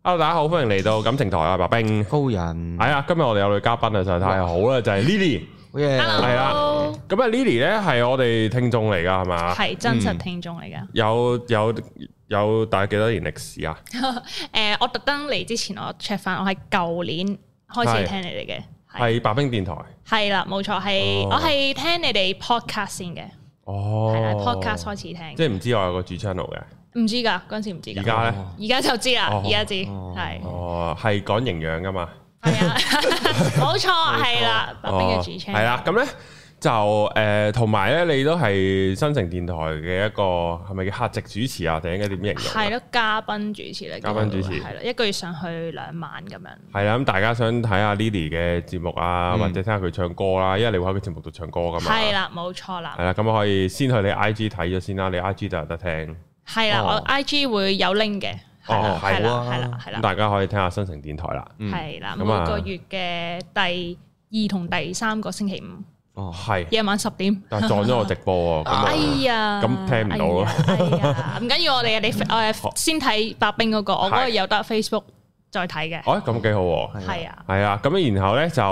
Hello， 大家好，歡迎嚟到感情台啊，白兵高人係啊，今日我哋有女嘉賓啊，實在太好啦，就係 Lily， 係啊，咁啊 Lily 咧係我哋聽眾嚟噶係嘛？係真實聽眾嚟噶， 有大概幾多年歷史啊？ 我特登嚟之前我 check 翻，我係舊年開始聽你哋嘅， 係白兵電台， 係啦，冇錯，係我係聽你哋 podcast 先嘅，係啦 podcast 開始聽， 即係唔知我有個主 channel 嘅。 唔知㗎，嗰陣時唔知㗎。 而家咧？ 而家就知啦，而家知係。 哦，係講營養㗎嘛？ 係啊，冇錯，係啦，白兵嘅主 channel。 係啦，咁咧就同埋咧，你都係新城電台嘅一個係咪叫客席主持啊？定應該點形容？係咯，嘉賓主持嚟。嘉賓主持係啦，一個月上去2晚咁樣。係啦，咁大家想睇下 Lily 嘅節目啊，或者聽下佢唱歌啦，因為你會喺佢節目度唱歌㗎嘛。係啦，冇錯啦。係啦，咁可以先去你 IG 睇咗先啦，你 IG 就有得聽。係啦，我 IG 會有 link 嘅，係啦，咁大家可以聽下新城電台啦。係啦，每個月嘅第2同第3個星期五，係夜晚10點。但係撞咗我直播喎，哎呀，咁聽唔到咯。唔緊要，我先睇白兵嗰個，我嗰個有得 Facebook 再睇嘅。哦，咁幾好喎。係啊，係啊，咁然後咧就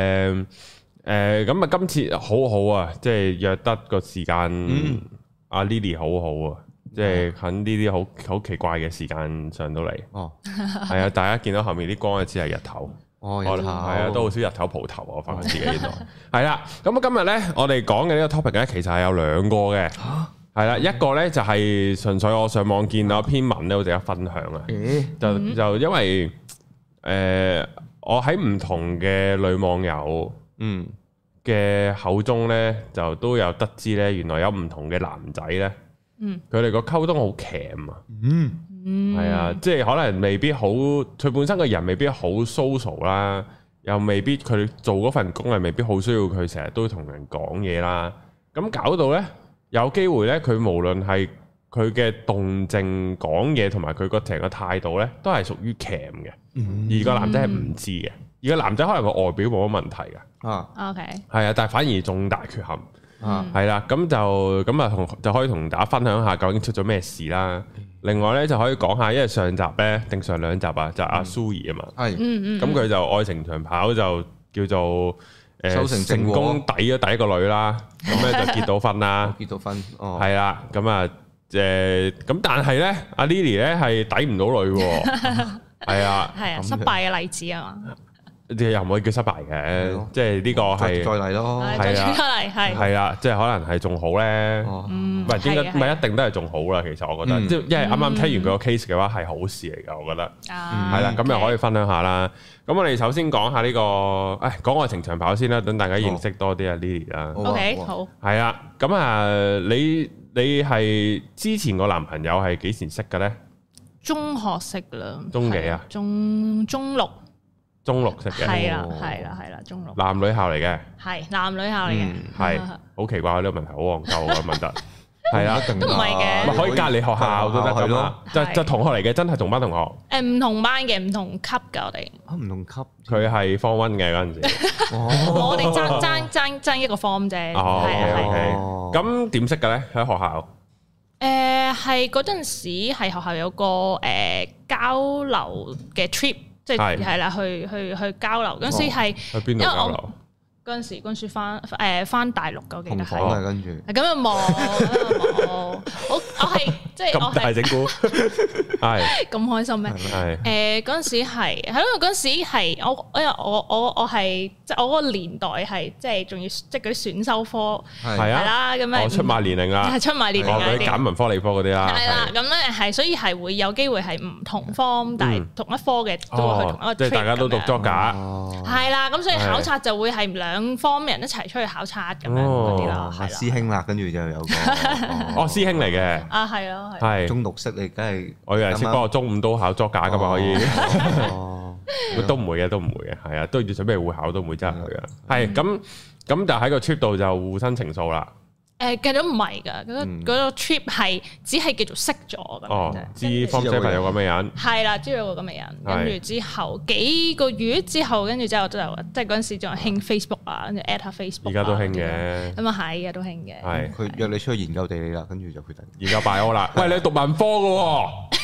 咁啊，今次好好啊，即係約得個時間，阿 Lily 好好啊。即係喺呢啲好奇怪嘅時間上到嚟，係啊！大家見到後面啲光，只係日頭，係啊，都好少日頭蒲頭啊！我發覺自己原來係啦。咁今日咧，我哋講嘅呢個 topic 咧，其實係有2個嘅，係啦，一個咧就係純粹我上網見到一篇文咧，好值得分享啊！就因為我喺唔同嘅女網友嘅口中咧，就都有得知咧，原來有唔同嘅男仔咧。佢哋個溝通好鉗啊，係啊，即係可能未必好，佢本身個人未必好 social 啦，又未必佢做嗰份工係未必好需要佢成日都同人講嘢啦，咁搞到呢，有機會呢，佢無論係佢嘅動靜講嘢同埋佢個成個態度呢，都係屬於鉗嘅，而個男仔係唔知嘅，而個男仔可能個外表冇乜問題嘅，OK，係啊，但係反而重大缺陷。係啦，咁就可以同大家分享下究竟出咗咩事啦。另外咧就可以講下，因為上集咧定上2集啊，就阿蘇怡啊嘛，係，咁佢就愛情長跑就叫做成功抵咗第一個女啦，咁咧就結到婚啦，結到婚，係啦，咁啊咁但係咧阿 Lily 咧係抵唔到女喎，係啊，係啊，失敗嘅例子啊嘛。又唔可以叫失敗嘅，即係呢個係再嚟咯，係啊，係啊，即係可能係仲好咧，唔係應該唔係一定都係仲好啦。其實我覺得，即係因為啱啱聽完佢個 case 嘅話係好事嚟㗎，我覺得係啦，咁又可以分享下啦。咁我哋首先講下呢個，講愛情長跑先啦，等大家認識多啲阿 Lily 啦。OK，好，係啊，咁啊，你係之前個男朋友係幾時識嘅咧？中學識啦，中幾啊？中6。中6識嘅，係啦，中6。男女校嚟嘅，係男女校嚟嘅，係好奇怪呢個問題，好戇鳩啊問得，係啊，都唔係嘅，可以隔離學校都得咁咯，就同學嚟嘅，真係同班同學。唔同班嘅，唔同級㗎我哋。唔同級，佢係 Form 1嘅嗰陣時，我哋爭一個 form 啫。哦，咁點識嘅咧？喺學校？係嗰陣時係學校有個交流嘅 trip。即係啦，去交流嗰陣時係去邊度交流？嗰陣時翻大陸嘅，記得係跟住咁又冇，我係即係我係大整蠱，係咁開心咩？嗰陣時係咯，嗰陣時係因為我係即係我嗰個年代係即係仲要即係嗰啲選修科係啦，咁樣出賣年齡啦，係出賣年齡嗰啲揀文科理科嗰啲啦，係啦，咁咧係所以係會有機會係唔同科，但係同一科嘅都會去同一個 trip，即係大家都讀作假，係啦，咁所以考察就會係2方人一齊出去考察咁樣嗰啲啦，係師兄啦，跟住就有個師兄嚟嘅，係咯，係中6識你梗係我有人識，不過中5都考作假噶嘛，可以，都唔會嘅，係啊，都要準備會考，都唔會真係去啊，係咁就喺個 trip 度就互生情愫啦。計咗唔係㗎，嗰個 trip 係只係叫做識咗咁樣啫。知方姐朋友咁嘅人，係啦，知道個咁嘅人。跟住之後幾個月之後，跟住之後就即係嗰陣時仲係興 Facebook 啊，跟住 at 下 Facebook。而家都興嘅。咁啊係，而家都興嘅。係佢約你出去研究地理啦，跟住就決定研究 bio 啦。喂，你讀文科嘅喎？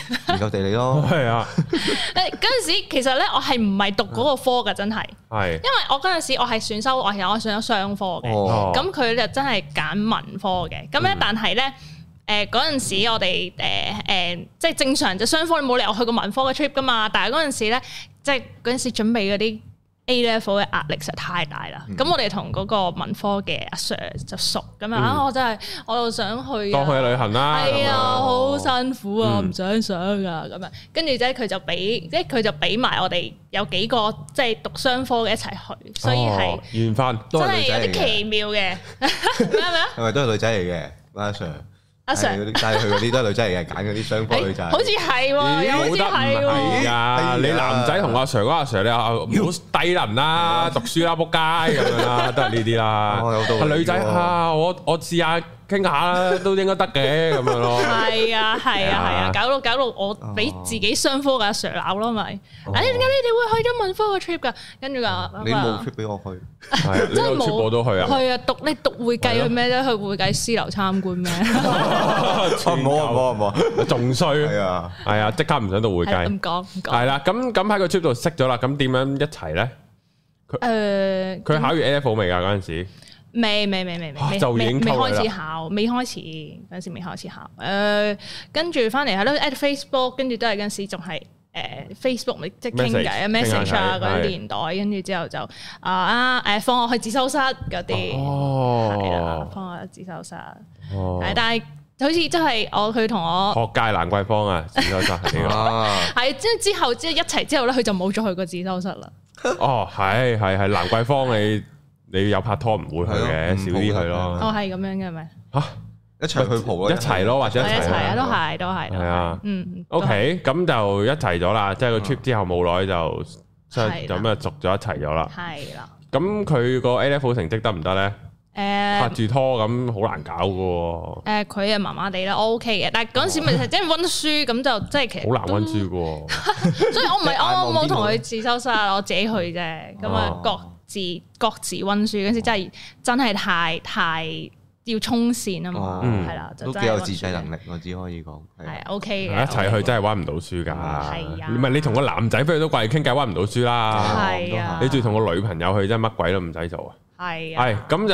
研究地理咯。 係啊。 嗰陣時其實咧，我係唔係讀嗰個科㗎，真係。係。因為我嗰陣時我係選修，我選咗商科嘅。咁佢就真係揀文科嘅。咁咧，但係咧。嗰陣時我哋即係正常就雙科，你冇理由去過文科嘅 trip 噶嘛。但係嗰陣時咧，即係嗰陣時準備嗰啲 A level 嘅壓力實在太大啦。咁我哋同嗰個文科嘅阿 Sir 就熟咁樣我真係我又想去當去旅行啦。 係啊，好辛苦啊，唔想上啊咁樣。跟住啫，佢就俾埋我哋有幾個即係讀雙科嘅一齊去，所以係緣分， 真係有啲奇妙嘅。咩啊？ 係咪都係女仔嚟嘅阿 Sir？ 阿 Sir 帶佢嗰啲都係女仔嚟嘅，揀嗰啲雙科女仔。 好似係喎，有好似係喎。 啊！你男仔同阿 Sir 嗰阿 Sir，你唔好低能啦，讀書啦，仆街咁樣啦，都係呢啲啦。係女仔啊，我試下傾下啦，都應該得嘅咁樣咯。係啊，搞到我俾自己雙科嘅阿 Sir 鬧咯，咪？點解你哋會去咗文科嘅 trip 㗎？跟住話你冇 trip 俾我去， 真係冇，我都去啊。 係啊，你讀會計去咩啫？去會計師樓參觀咩？ 冇， 仲衰。係啊，即刻唔想讀會計。 唔講。 係啦，咁喺個 trip 度識咗啦，咁點樣一齊咧？佢考完 A level 未㗎嗰陣時？未就已經開始考，未開始嗰陣時未開始考。跟住翻嚟係咯 ，at Facebook， 跟住都係嗰陣時仲係Facebook 咪即係傾偈啊 message 啊嗰啲年代，跟住之後就放我去自修室嗰啲，係啦，放我去自修室。但係好似真係佢同我學界蘭桂坊啊，自修室係係之後即係一齊之後咧，佢就冇再去過自修室啦。 係蘭桂坊你有拍拖唔會去嘅，少啲去咯。 係咁樣嘅咪一齊去蒲咯， 一齊咯，或者一齊啊，都係。係啊 ，OK，咁就一齊咗啦。即係個 trip 之後冇耐就咁啊，續咗一齊咗啦。係啦。咁佢個 A level 成績得唔得咧？拍住拖咁好難搞噶。 佢啊麻麻地啦，我 OK 嘅。但係嗰陣時咪即係溫書，咁就即係其實好難溫書噶。所以我冇同佢自修室，我自己去啫。咁啊各自溫書嗰時真係太要衝線啊嘛，係啦， 都幾有自制能力，我只可以講係 OK 嘅。 一齊去真係溫唔到書㗎，唔係你同個男仔飛去都掛住傾偈溫唔到書啦，係啊，你仲要同個女朋友去真係乜鬼都唔使做啊，係咁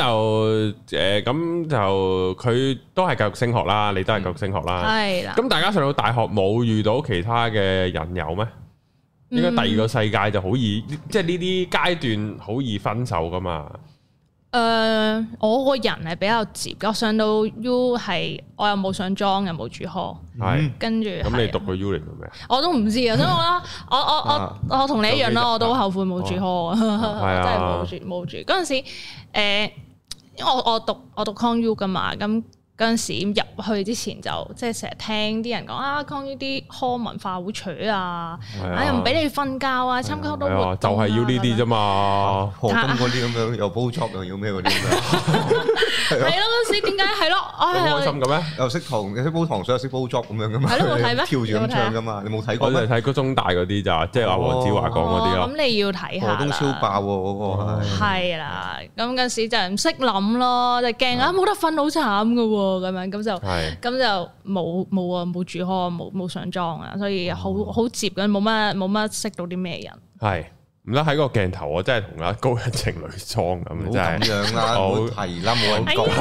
就佢都係繼續升學啦，你都係繼續升學啦，係啦。咁大家上到大學冇遇到其他嘅引誘咩？應該第二個世界就好易，即係呢啲階段好易分手噶嘛。 我個人係比較接，我上到 U 係我又冇上莊，又冇住 hall，係跟住。咁你讀個 U 嚟做咩？ 我都唔知啊，所以我同你一樣啦，我都後悔冇住 hall 啊，真係冇住。嗰陣時因為我讀 Con U 噶嘛，咁。嗰陣時入去之前就即係成日聽啲人講Con U啲 hall 文化好扯啊，又唔俾你瞓覺啊，參加好多活動就係要呢啲啫嘛， 何金嗰啲咁樣又煲粥又要咩嗰啲咁樣， 係咯嗰陣時點解係咯？ 開心嘅咩？ 又識煲糖水又識煲粥咁樣噶嘛？ 係咯冇睇咩？ 跳住咁唱噶嘛？你冇睇過？ 我哋睇嗰中大嗰啲咋，即係阿黃子華講嗰啲咯。 咁你要睇下啦。 都超爆喎嗰個。係啦，咁嗰陣時就唔識諗咯，就驚冇得瞓好慘噶喎。咁樣咁就冇住 hall 冇上莊啊，所以好接嘅，冇乜識到啲咩人。係唔得喺個鏡頭，我真係同阿高人情侶裝咁，真係咁樣啦，好提啦，冇人講，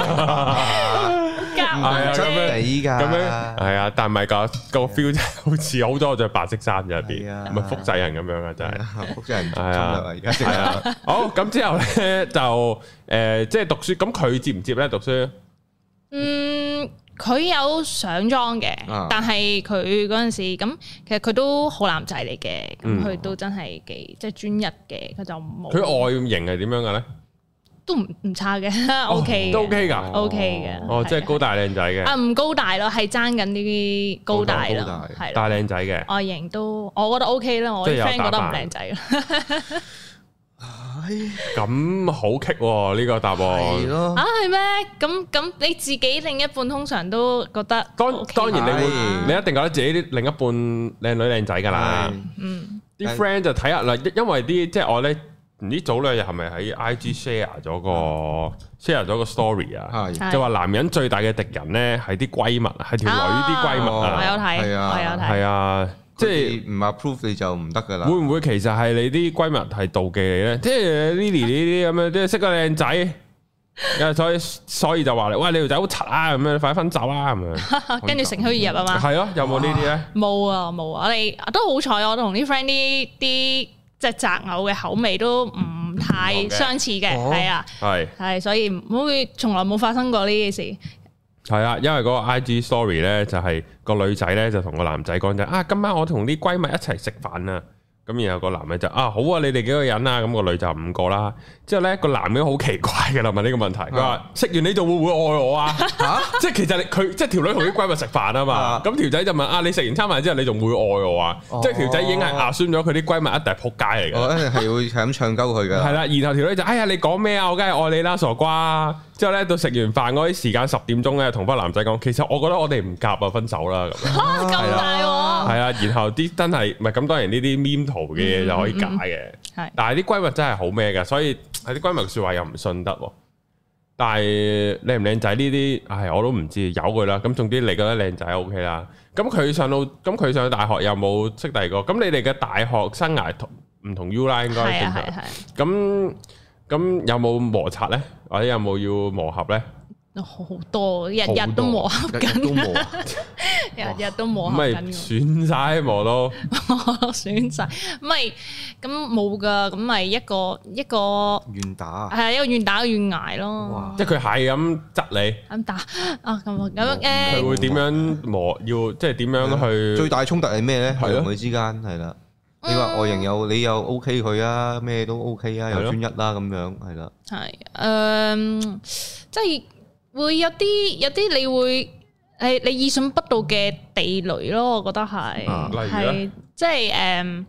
係啊真係㗎， 咁樣係啊，但係唔係個 feel 真係好似好多着白色衫入邊，唔係複製人咁樣啊，真係複製人係啊，而家係啊， 好咁之後咧就即係讀書，咁佢接唔接咧讀書？ 佢有上莊嘅，但係佢嗰陣時咁，其實佢都好男仔嚟嘅，咁佢都真係幾即係專一嘅，佢就冇。佢外形係點樣嘅咧？ 都唔差嘅，OK 都 OK 㗎 ，OK 嘅。 哦，即係高大靚仔嘅。 唔高大咯，係爭緊呢啲高大咯，係大靚仔嘅。 外形都我覺得 OK 啦，我啲 friend 覺得唔靚仔啦。 咁好棘喎呢個答案係咩？咁你自己另一半通常都覺得當然你一定覺得自己啲另一半靚女靚仔噶啦。啲 friend 就睇下啦，因為啲即係我咧唔知早2日係咪喺 IG share 咗個 story 啊？就話男人最大嘅敵人咧係啲閨蜜，係條女啲閨蜜啊！ 我有睇，我有睇， 係啊，即係唔 approve 你就唔得噶啦。 會唔會其實係你啲閨蜜係妒忌你咧？即係 Lily 呢啲咁樣，即係識個靚仔，所以就話你，喂，你條仔好柒啊，咁樣快啲分手啦，咁樣。跟住乘虛而入啊嘛。係咯，有冇呢啲咧？ 冇啊，我哋都好彩，我同啲 friend 啲。即係擇偶嘅口味都唔太相似嘅，係啊，係，所以唔會從來冇發生過呢件事。 係啊，因為嗰個 IG story 咧就係個女仔咧就同個男仔講就啊，今晚我同啲閨蜜一齊食飯啊。咁然後個男嘅就好啊，你哋幾個人啊？咁個女就5個啦。之後咧個男嘅好奇怪嘅啦，問呢個問題，佢話食完你就會唔會愛我啊？即係其實佢即係條女同啲閨蜜食飯啊嘛。咁條仔就問你食完餐飯之後你仲會愛我啊？即係條仔已經係assume咗佢啲閨蜜一定係仆街嚟嘅。一定係會係咁唱鳩佢嘅。係啦，然後條女就你講咩啊？我梗係愛你啦，傻瓜。之後咧到食完飯嗰啲時間10點鐘咧，同翻男仔講，其實我覺得我哋唔夾啊，分手啦咁。 咁大喎！ 係啊，然後啲真係唔係咁多人呢啲 meme 圖嘅嘢就可以假嘅，但係啲閨蜜真係好咩㗎，所以係啲閨蜜説話又唔信得喎。但係靚唔靚仔呢啲，我都唔知，由佢啦。咁總之你覺得靚仔 OK 啦。咁佢上到大學有冇識第二個？咁你哋嘅大學生涯唔同 U 啦，應該係。咁有冇摩擦咧？或者有冇要磨合咧？ 好多，日日都磨合緊，日日都磨合緊。 唔係損晒磨到， 損晒，唔係咁冇噶，咁咪一個願打， 係一個願打願挨咯。 即係佢係咁窒你， 咁打啊咁佢會點樣磨？要即係點樣去？ 最大衝突係咩咧？係同佢之間係啦。你話外形你又 OK 佢啊，咩都 OK 啊，又專一啦咁樣，係啦。係即係會有啲你會你意想不到嘅地雷咯，我覺得係。例如咧，即係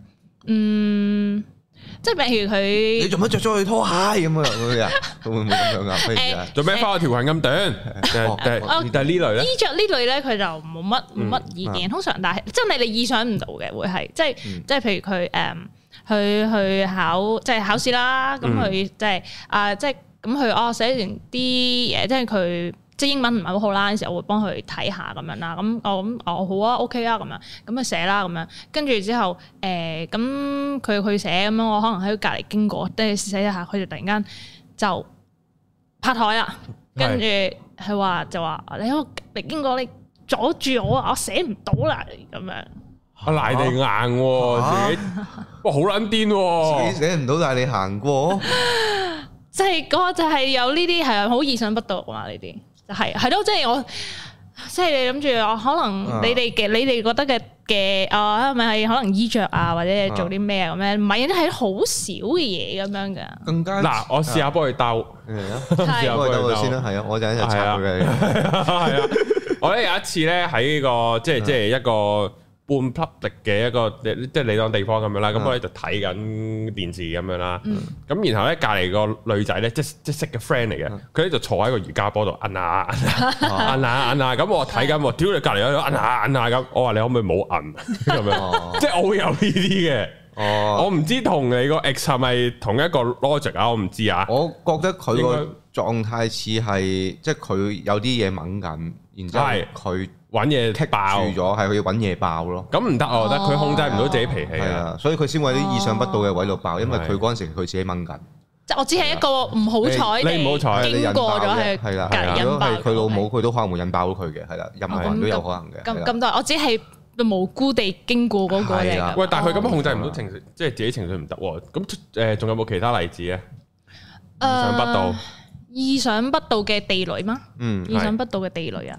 即係譬如佢， 你做乜着咗佢拖鞋咁啊？會唔會咁樣啊？ 做咩花條裙咁短？但係呢類咧， 衣着呢類咧，佢就冇乜意見。通常，但係真係你意想唔到嘅，會係即係譬如佢去考試啦，咁佢即係即係咁佢寫完啲嘢，即係佢。即係英文唔係好好啦，嗰陣時我會幫佢睇下咁樣啦，咁好啊 OK 啊咁樣，咁啊寫啦咁樣，跟住之後咁佢寫咁樣，我可能喺隔離經過，跟住寫一下，佢就突然間就拍台啦，跟住佢話你喺我隔離經過，你阻住我啊，我寫唔到啦咁樣。 賴地硬自己，哇好撚癲喎！ 自己寫唔到，但係你行過， 即係嗰就係有呢啲係好意想不到啊呢啲。係咯，即係我，即係你諗住我可能你哋覺得嘅係咪係可能衣着啊，或者做啲咩咁樣？唔係，係好少嘅嘢咁樣噶。更加嗱，我試下幫佢兜， 試下幫佢兜先啦。係啊，我就一齊插佢嘅。係啊， 我咧有一次咧喺個即係一個半 public 嘅一個即係你當地方咁樣啦，咁我咧就睇緊電視咁樣啦，咁然後咧隔離個女仔咧即係識嘅 friend 嚟嘅，佢咧就坐喺個瑜伽波度摁下，咁我睇緊喎，屌你隔離喺度摁下咁，我話你可唔可以冇摁咁樣，即係我會有呢啲嘅，我唔知同你個 ex 係咪同一個 logic 啊，我唔知啊， 我覺得佢個狀態似係即係佢有啲嘢掹緊，然之後佢。 揾嘢踢爆咗，係佢要揾嘢爆咯。 咁唔得，我覺得佢控制唔到自己脾氣啊， 所以佢先會喺啲意想不到嘅位度爆，因為佢嗰陣時佢自己掹緊。 即係我只係一個唔好彩， 你唔好彩， 經過咗係係啦。如果係佢老母，佢都可能會引爆到佢嘅，係啦，任何人都有可能嘅。咁多，我只係無辜地經過嗰個嚟。 喂，但係佢咁控制唔到情緒，即係自己情緒唔得喎。咁仲有冇其他例子啊？意想不到， 意想不到嘅地雷嗎？意想不到嘅地雷啊！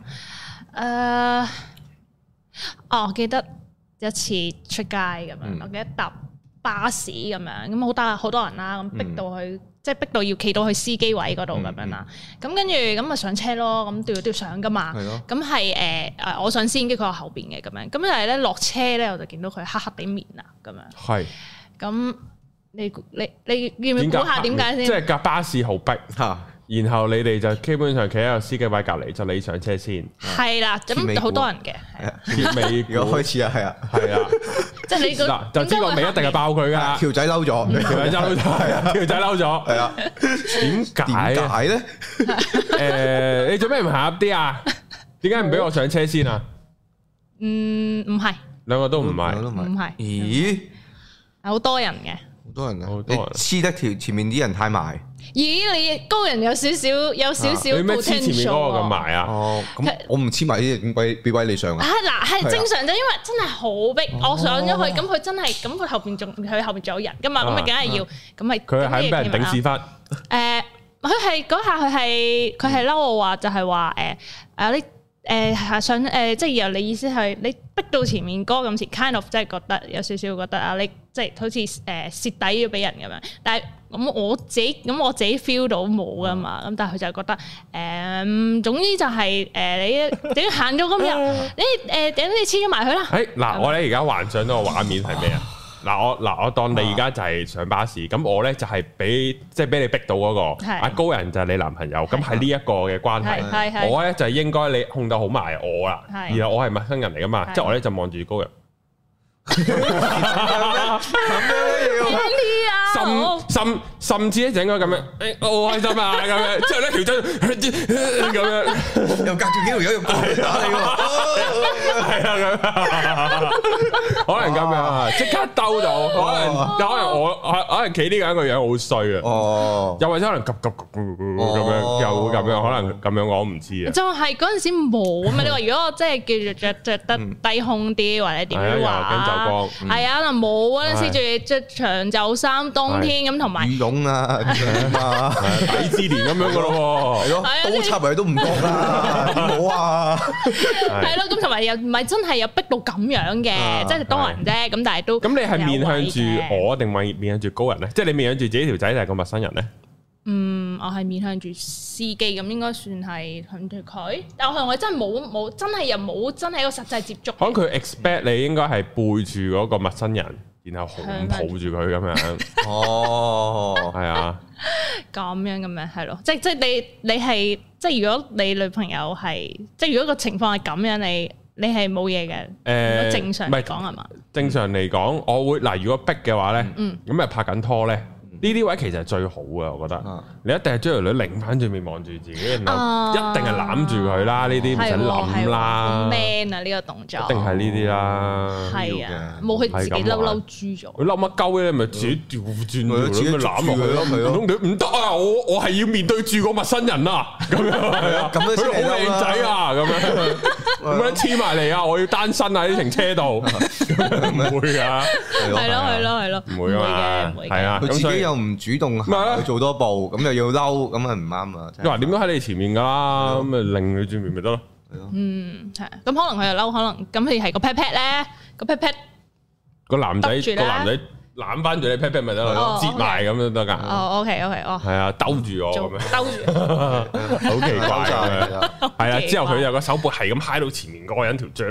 我記得一次出街咁樣，我記得搭巴士咁樣，咁好多人啦，咁逼到去，即係逼到要企到去司機位嗰度咁樣啦。咁跟住咁咪上車咯，咁都要上噶嘛。咁係我上先，跟住佢喺後邊嘅咁樣。咁但係咧落車咧，我就見到佢黑黑地面啊咁樣。係。咁你要唔要估下點解先？ 即係架巴士好逼嚇。 然後你哋就基本上企喺個司機位隔離，就你上車先。 係啦，咁好多人嘅。 鐵尾如果開始啊，係啊， 即係你嗱就知個尾一定係爆佢㗎。 條仔嬲咗，條仔嬲咗， 條仔嬲咗，係啊。點解咧？你做咩唔行入啲啊？點解唔俾我上車先啊？ 唔係， 兩個都唔係， 唔係。 咦？ 好多人嘅， 好多人啊！你黐得條前面啲人太埋。 咦？你高人有少少， 你咩黐前面嗰個咁埋啊？ 哦，咁我唔黐埋啲點俾你上啊？ 嗱，係正常啫，因為真係好逼，我上咗去，咁佢真係，咁佢後邊仲有人噶嘛，咁咪梗係要，咁咪佢係俾人頂屎忽。 佢係嗰下佢係嬲我話就係話你想即係由你意思係你逼到前面嗰咁前 kind of 即係覺得有少少覺得你即係好似蝕底要俾人咁樣，但係我自己 feel 到冇噶嘛，咁但係佢就覺得總之就係你點行咗今日你等你黐咗埋佢啦。 嗱，我咧而家幻想到個畫面係咩啊？我當你而家就係上巴士，咁我咧就係俾你逼到嗰個阿高人就係你男朋友，咁係呢一個嘅關係，我咧就係應該你控到好埋我啦，然後我係陌生人嚟噶嘛，即係我咧就望住高人。甚至咧就應該咁樣，我好開心啊咁樣，之後咧條仔咁樣， 又隔住幾條友用過嚟打你喎， 係啊咁，可能咁樣即刻兜到，可能我企呢個人個樣好衰啊，又或者可能急咁樣，又會咁樣，可能咁樣我唔知啊。就係嗰陣時冇啊嘛，你話如果我真係叫做着得低胸啲或者點樣話，係啊，可能冇嗰陣時仲要着長袖衫，冬天咁同埋羽絨啊， 底之連咁樣噶咯，係咯， 刀插埋都唔覺啦，冇啊， 係咯，咁同埋又唔係真係有逼到咁樣嘅，即係多人啫，咁但係都咁你係面向住我定係面向住高人咧？即係你面向住自己條仔定係個陌生人咧？我係面向住司機，咁應該算係向住佢，但係我真係冇真係又冇真係一個實際接觸。可能佢 expect 你應該係背住嗰個陌生人，然後擁抱住佢咁樣。哦，係啊，咁樣係咯，即係你係即係如果你女朋友係即係如果個情況係咁樣，你係冇嘢嘅。正常嚟講係嘛？正常嚟講，我會嗱，如果逼嘅話咧，咁咪拍緊拖咧。呢啲位其實係最好嘅，我覺得。你一定係將條女擰翻轉面望住自己，然後一定係攬住佢啦。呢啲唔使諗啦。man 啊，呢個動作。一定係呢啲啦。係啊，冇佢自己嬲豬咗。佢嬲乜鳩咧？咪自己調轉條女咪攬落去咯。唔得啊！我係要面對住個陌生人啊！咁樣係啊，佢好靚仔啊！咁樣黐埋嚟啊！我要單身啊！喺停車度唔會㗎。係咯，唔會啊！係啊，佢自己又唔主動去做多步，咁又要嬲，咁啊唔啱啊！你話點都喺你前面噶啦，咁咪擰佢轉面咪得咯。係咯，係。咁可能佢又嬲，可能咁佢係個 pat pat 咧，個 pat pat 個男仔攬翻住你 pat pat 咪得咯，折埋咁都得噶。哦，OK，哦，係啊，兜住我咁樣，兜住，好奇怪啊！係啊，之後佢有個手部係咁揩到前面嗰個人條脹，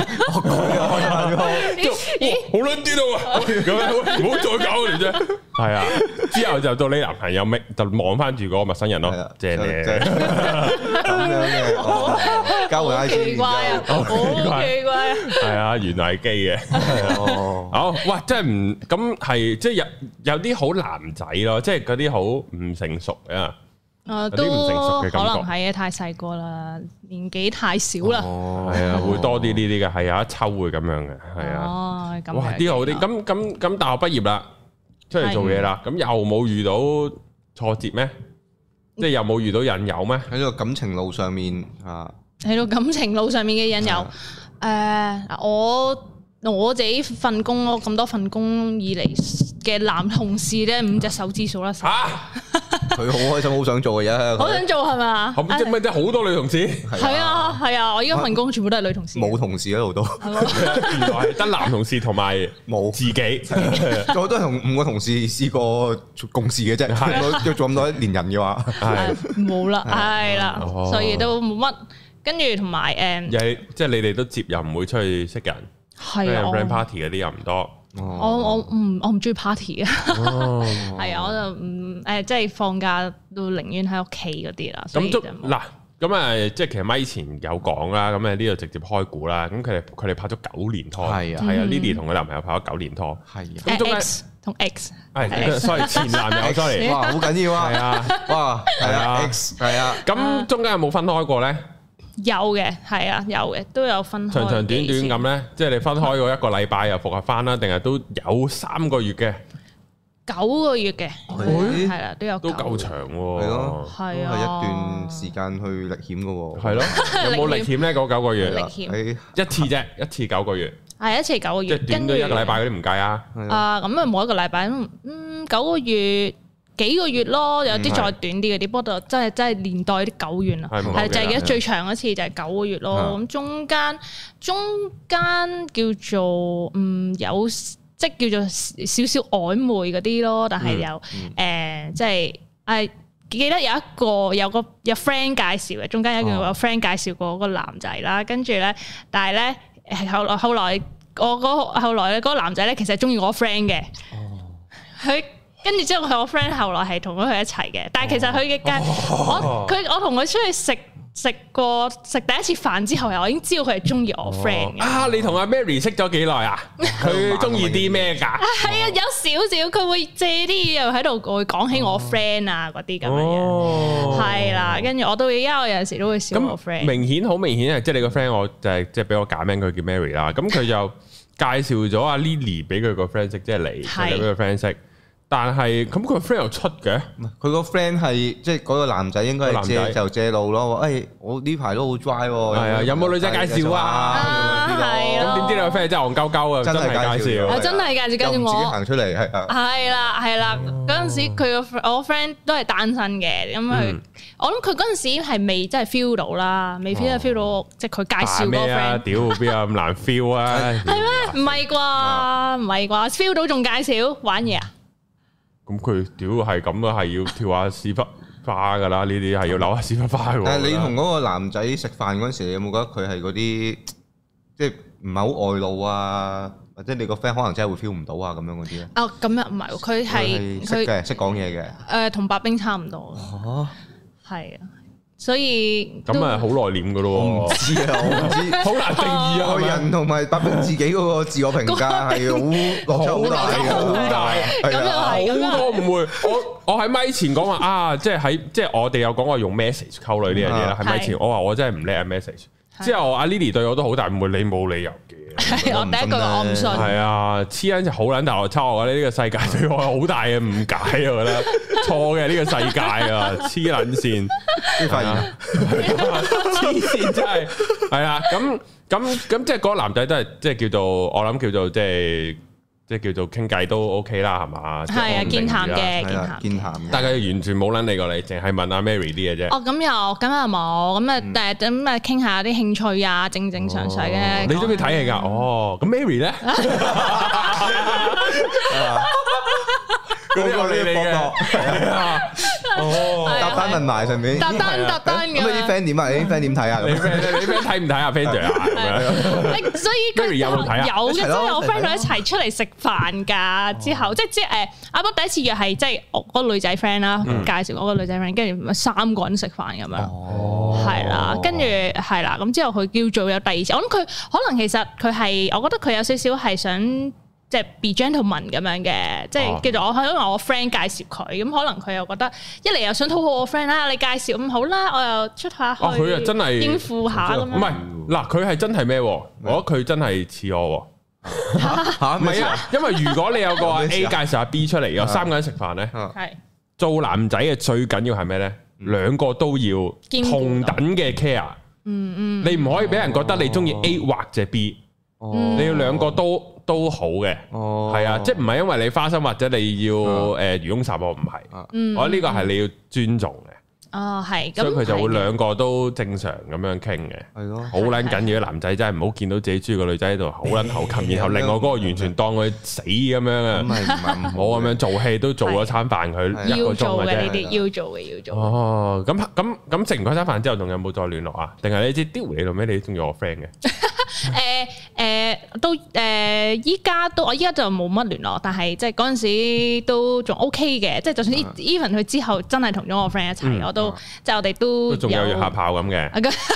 好撚啲咯，咁樣唔好再搞你啫。係啊，之後就到你男朋友咪就望翻住嗰個陌生人咯，正嘅，咁樣嘅，交換 I G，奇怪啊，好奇怪啊，係啊，原來係基嘅，好，喂，真係唔咁。係即係有啲好男仔咯，即係嗰啲好唔成熟啊，都唔成熟嘅感覺，可能係啊，太細個啦，年紀太少啦，係啊，會多啲呢啲嘅，係有一抽會咁樣嘅，係啊，哇，啲好啲，咁大學畢業啦，出嚟做嘢啦，咁又冇遇到挫折咩？即係又冇遇到引誘咩？喺個感情路上面啊，喺個感情路上面嘅引誘，我自己份工咯，咁多份工以嚟嘅男同事咧，5隻手指數啦。嚇！佢好開心，好想做嘅嘢。好想做係嘛？即係好多女同事。係啊係啊！我依家份工全部都係女同事。冇同事喺度都。原來係得男同事同埋冇自己。我都係同5個同事試過共事嘅啫。要做咁多年人嘅話，係冇啦，係啦，所以都冇乜。跟住同埋即係你哋都接又唔會出去識人。係啊 ，friend party 嗰啲又唔多。我唔中意 party 嘅。係啊，我就即係放假都寧願喺屋企嗰啲啦。 咁嗱，咁即係其實咪前有講啦，咁呢度直接開估啦。咁佢哋拍咗9年拖，係啊，Lily 同佢男朋友拍咗9年拖，係咁中間同 X 係，sorry 前男友 sorry， 哇好緊要啊，係啊，哇係啊 X 係啊， 咁中間有冇分開過咧？ 有嘅，係啊，有嘅，都有分開。長長短短咁咧，即係你分開過1個禮拜又復合翻啦，定係都有3個月嘅 ？9個月嘅，係啦，都有都夠長喎， 係咯， 係啊， 一段時間去歷險嘅喎， 係咯，有冇歷險咧？嗰9個月， 歷險一次啫，一次9個月， 係一次9個月， 即係短到1個禮拜嗰啲唔計啊。 咁啊冇1個禮拜，9個月。幾個月咯，有啲再短啲嗰啲，不過真係年代啲久遠啦，係就係記得最長嗰次就係9個月咯。咁中間叫做有即係叫做少少曖昧嗰啲咯，但係又即係記得有個 friend 介紹嘅，中間有個 friend 介紹過個男仔啦，跟住咧，但係咧後來嗰個男仔咧其實係中意我 friend 嘅，佢。跟住之後，佢我 friend 後來係同咗佢一齊嘅，但係其實佢嘅我同佢出去食第一次飯之後，我已經知道佢係中意我 friend 嘅。 啊，你同阿 Mary 識咗幾耐啊？佢中意啲咩㗎？ 係啊，有少少，佢會借啲嘢又喺度會講起我 friend 啊嗰啲咁嘅嘢。係啦，跟住我到而家我有陣時都會笑我 friend。好明顯係， 即係你個 friend，我就係即係俾我揀名，佢叫 Mary 啦。咁佢就介紹咗阿 Lily 俾佢個 friend 識，即係你俾個 friend 識。但係咁佢個 friend 又出嘅， 佢個 friend 係即係嗰個男仔應該係借路咯。誒，我呢排都好 dry 喎。係啊， 有冇女仔介紹啊？係咯。咁點知你個 friend 真係戇鳩鳩啊？真係介紹， 真係介紹我。 自己行出嚟係啊。 係啦，嗰陣時我 friend 都係單身嘅，咁我諗佢嗰陣時係未真係 feel 到啦，未 feel 到即係佢介紹嗰個 friend。 屌邊有咁難 feel 啊？ 係咩？唔係啩？feel 到仲介紹玩嘢啊？ 咁佢屌係咁啊，係要跳下屎忽花噶啦，呢啲係要扭下屎忽花嘅。 但係你同嗰個男仔食飯嗰陣時，你有冇覺得佢係嗰啲即係唔係好外露啊？或者你個 friend 可能真係會 feel 唔到啊咁樣嗰啲咧？ 哦，咁樣唔係，佢係識講嘢嘅。 同白兵差唔多。哦，係啊。所以咁啊，好內斂噶咯，我唔知啊，我唔知，好難定義啊。個人同埋白兵自己嗰個自我評價係好落差好大嘅，好大。 咁又係， 好多唔會。我喺咪前講話啊，即係我哋有講過用 message 溝女呢樣嘢啦。喺咪前我話我真係唔叻啊 message。之後阿 Lily 對我都好大誤會，你冇理由嘅。 我第一句我唔信。係啊，黐撚就好撚大落差，我覺得呢個世界對我好大嘅誤解，我覺得錯嘅呢個世界啊，黐撚線， 發現黐線真係係啊，咁即係嗰個男仔都係即係叫做我諗叫做即係叫做傾偈都 OK 啦，係嘛？ 係啊，健談嘅， 健談。 但係完全冇撚理過你，淨係問阿 Mary 啲嘅啫。 哦，咁又冇，咁啊傾下啲興趣啊，正常嘅。 你中意睇戲㗎？哦，咁 Mary 咧？嗰個你嘅係啊， 搭單問埋上面， 搭單嘅。 咁啲 friend 點啊？你啲 friend 點睇啊？ 你 friend 睇唔睇啊 friend 啊？ 所以佢有嘅，即係我 friend 佢一齊出嚟食飯㗎。之後即係阿波第一次約係即係我嗰個女仔 friend 啦，介紹我個女仔 friend，跟住3個人食飯咁樣，係啦，跟住係啦，咁之後佢叫做有第二次。我諗佢可能其實佢係，我覺得佢有少少係想。即係 be gentleman 咁樣嘅，即係叫做因為我 friend 介紹佢，咁可能佢又覺得一嚟又想討好我 friend 啦，你介紹咁好啦，我又出下去， 佢又真係應付下咁樣。 唔係嗱，佢係真係咩？我覺得佢真係似我喎。唔係啊，因為如果你有個 A 介紹阿 B 出嚟，有3個人食飯咧，做男仔嘅最緊要係咩咧？2個都要同等嘅 care。你唔可以俾人覺得你中意 A 或者 B。你要2個都好嘅，係啊，即係唔係因為你花心或者你要漁翁撒網唔係，我覺得呢個係你要尊重嘅。 係， 所以佢就會兩個都正常咁樣傾嘅，係咯，好撚緊要。男仔真係唔好見到自己中意個女仔喺度好撚猴擒，然後另外嗰個完全當佢死咁樣啊！唔好咁樣做戲，都做咗餐飯佢一個鐘嘅啫。要做嘅呢啲，要做嘅要做。哦，咁食完嗰餐飯之後，仲有冇再聯絡啊？定係你知丟你做咩？你中意我 friend 嘅？ 都依家就冇乜聯絡，但係即係嗰陣時都仲 OK 嘅，即係就算 even 佢之後真係同咗我 friend 一齊，我都即係我哋都仲有約下炮咁嘅。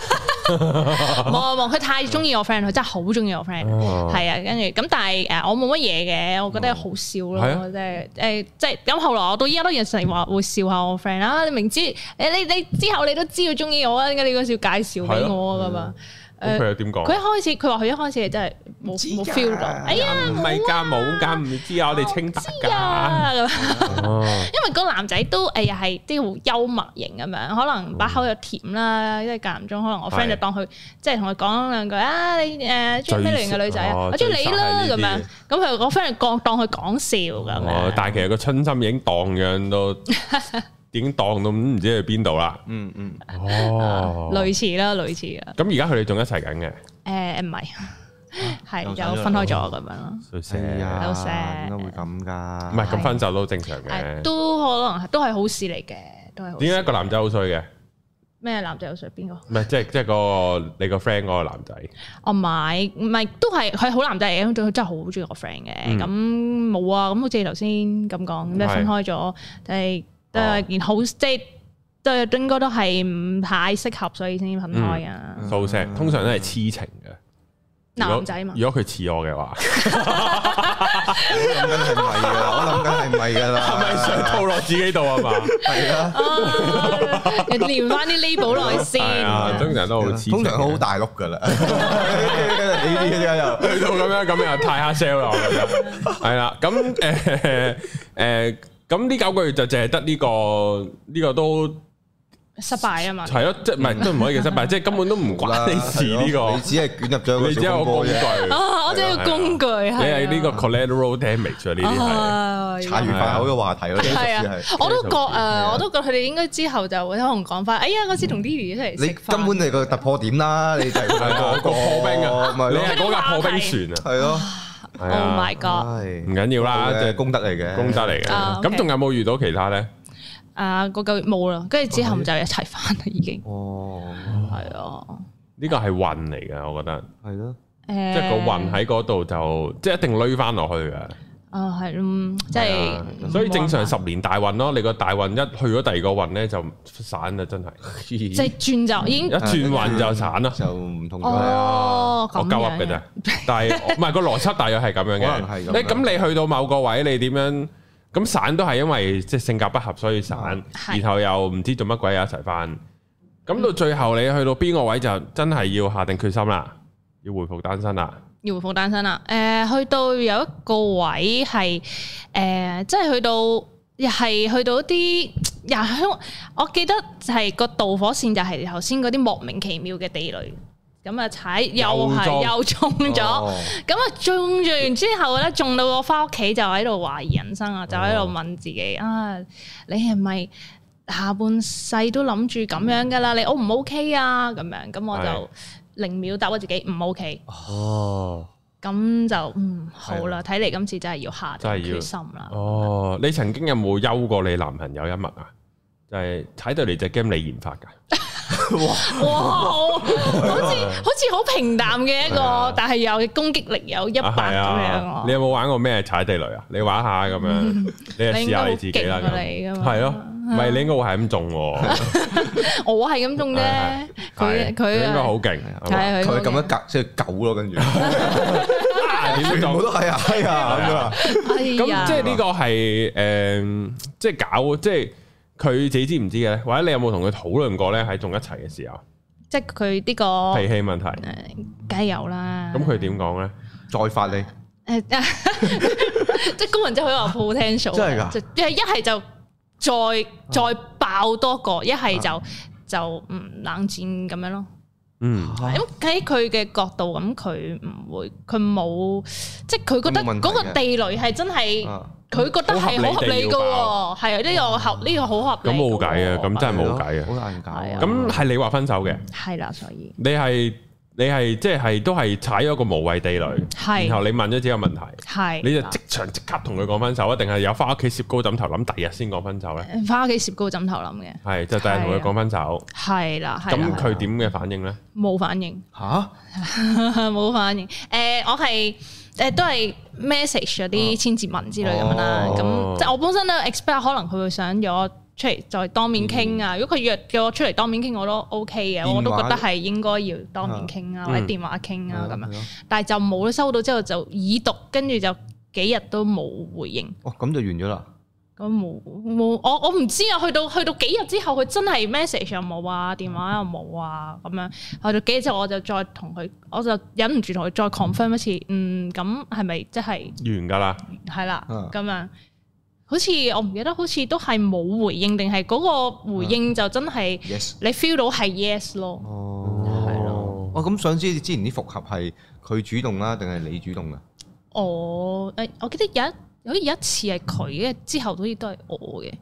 冇，佢太中意我 friend，佢真係好中意我 friend，係啊，跟住咁，但係我冇乜嘢嘅，我覺得好笑咯，即係咁。後來我到依家都有成日話會笑下我 friend 啊，你明知你之後你都知佢中意我啊，點解你嗰時要介紹俾我噶嘛？ 佢又點講？ 佢話佢一開始係真係冇 feel 到。哎呀， 唔係㗎，冇㗎，唔知啊，我哋清白㗎。 因為個男仔都又係啲好幽默型咁樣，可能把口又甜啦，即係間唔中可能我 friend 就當佢即係同佢講兩句啊，你中意咩類型嘅女仔啊？我中意你啦咁樣。咁佢個 friend 就當佢講笑咁樣。 但係其實個春心已經蕩漾到。已經蕩到唔知去邊度啦。類似啦。咁而家佢哋仲一齊緊嘅？唔係，係就分開咗咁樣咯。 都錫，點解會咁㗎？ 唔係咁分手都正常嘅， 都可能都係好事嚟嘅，都係。點解一個男仔好衰嘅？ 咩男仔好衰？邊個？ 唔係即係個你個 friend 嗰個男仔。 唔係都係佢好男仔嚟嘅，佢真係好中意我 friend 嘅。咁冇啊，咁好似頭先咁講，咁即係分開咗，都係件好，即係都應該都係唔太適合，所以先分開啊。 素食通常都係痴情嘅男仔嘛。如果佢似我嘅話， 我諗緊係唔係㗎啦？ 係咪想套落自己度啊嘛？係啊， 連翻啲 label 落去先。 通常都好痴情， 通常好大碌㗎啦。呢啲又去到咁樣太黑 sell 啦，我覺得係啦。咁咁呢9個月就淨係得呢個都失敗啊嘛， 係咯，即係唔係都唔可以叫失敗，即係根本都唔關你事呢個， 你只係捲入咗， 你只係個工具， 我只係個工具， 你係呢個 collateral damage 啊，呢啲係茶餘飯後嘅話題咯， 係啊，我都覺佢哋應該之後就會可能講翻，哎呀嗰次同 Lily 一齊食飯， 你根本係個突破點啦，你就係個破冰啊，你係嗰架破冰船啊， 係咯。 Oh my god！ 唔緊要啦，即係功德嚟嘅。 咁仲有冇遇到其他咧？ 個9月冇啦，跟住之後就一齊翻啦，已經。係啊。呢個係運嚟嘅，我覺得。 係咯。 即係個運喺嗰度就即係一定累翻落去嘅。 係即係。 所以正常10年大運咯，你個大運一去咗第二個運咧就散啦，真係。 即係轉就已經一轉運就散啦， 就唔同咗。 我鳩噏嘅啫，但係唔係個邏輯大約係咁樣嘅。咁你去到某個位，你點樣咁散都係因為即係性格不合所以散，然後又唔知做乜鬼一齊翻。咁到最後你去到邊個位就真係要下定決心啦，要回復單身啦。 要回復單身啦，去到有一個位係即係去到又係去到啲我記得係個導火線就係頭先嗰啲莫名其妙嘅地雷，咁啊踩又中咗，咁啊中完之後咧，中到我翻屋企就喺度懷疑人生啊，就喺度問自己啊，你係咪下半世都諗住咁樣噶啦？你 O 唔 OK 啊？咁樣咁我就。0秒答我自己唔 OK，咁就好啦，睇嚟今次真係要下定決心啦。 你曾經有冇休過你男朋友一脈啊？就係踩到嚟隻 game 你研發㗎？哇， 好似好平淡嘅一個，但係又攻擊力有100咁樣。 你有冇玩過咩踩地雷啊？你玩下咁樣，你試下你自己啦。係咯。唔係你應該會係咁中喎， 我係咁中啫。佢應該好勁， 佢咁一格即係狗咯，跟住全部都係啊，係啊咁即係呢個係即係搞，即係佢自己知唔知嘅咧？或者你有冇同佢討論過咧？喺仲一齊嘅時候， 即係佢呢個脾氣問題， 梗係有啦。 咁佢點講咧？ 再發你即係高人真係好有 potential， 真係㗎， 一係就。再爆多個，一係就冷戰咁樣咯。咁喺佢嘅角度，咁佢唔會，佢冇，即係佢覺得嗰個地雷係真係佢覺得係好合理㗎喎，係啊，呢個好合理。 咁冇計啊，咁真係冇計啊， 好難搞啊。 咁係你話分手嘅， 係啦，所以你係即係都係踩咗個無謂地雷，然後你問咗自己個問題，你就即場即刻同佢講分手啊？定係有翻屋企攝高枕頭諗第二日先講分手咧？翻屋企攝高枕頭諗嘅， 係就第日同佢講分手， 係啦。 咁佢點嘅反應咧？ 冇反應嚇， 冇反應。我係都係 message 嗰啲千字文之類咁樣啦。咁即係我本身都 expect 可能佢會想約我出嚟再當面傾啊！如果佢約叫我出嚟當面傾，我都 OK 嘅，我都覺得係應該要當面傾啊，或者電話傾啊咁樣。但係就冇收到之後就已讀，跟住就幾日都冇回應。 咁就完咗啦。 咁冇，我唔知啊。去到幾日之後，佢真係 message 又冇啊，電話又冇啊，咁樣去到幾日之後，我就再同佢，我就忍唔住同佢再 confirm 一次。咁係咪即係完㗎啦？ 係啦，咁樣。好似我唔記得，好似都係冇回應，定係嗰個回應就真係你 feel 到係 yes 咯。係咯。 咁想知之前啲復合係佢主動啦，定係你主動㗎？ 我記得有一次係佢嘅，之後好似都係我嘅。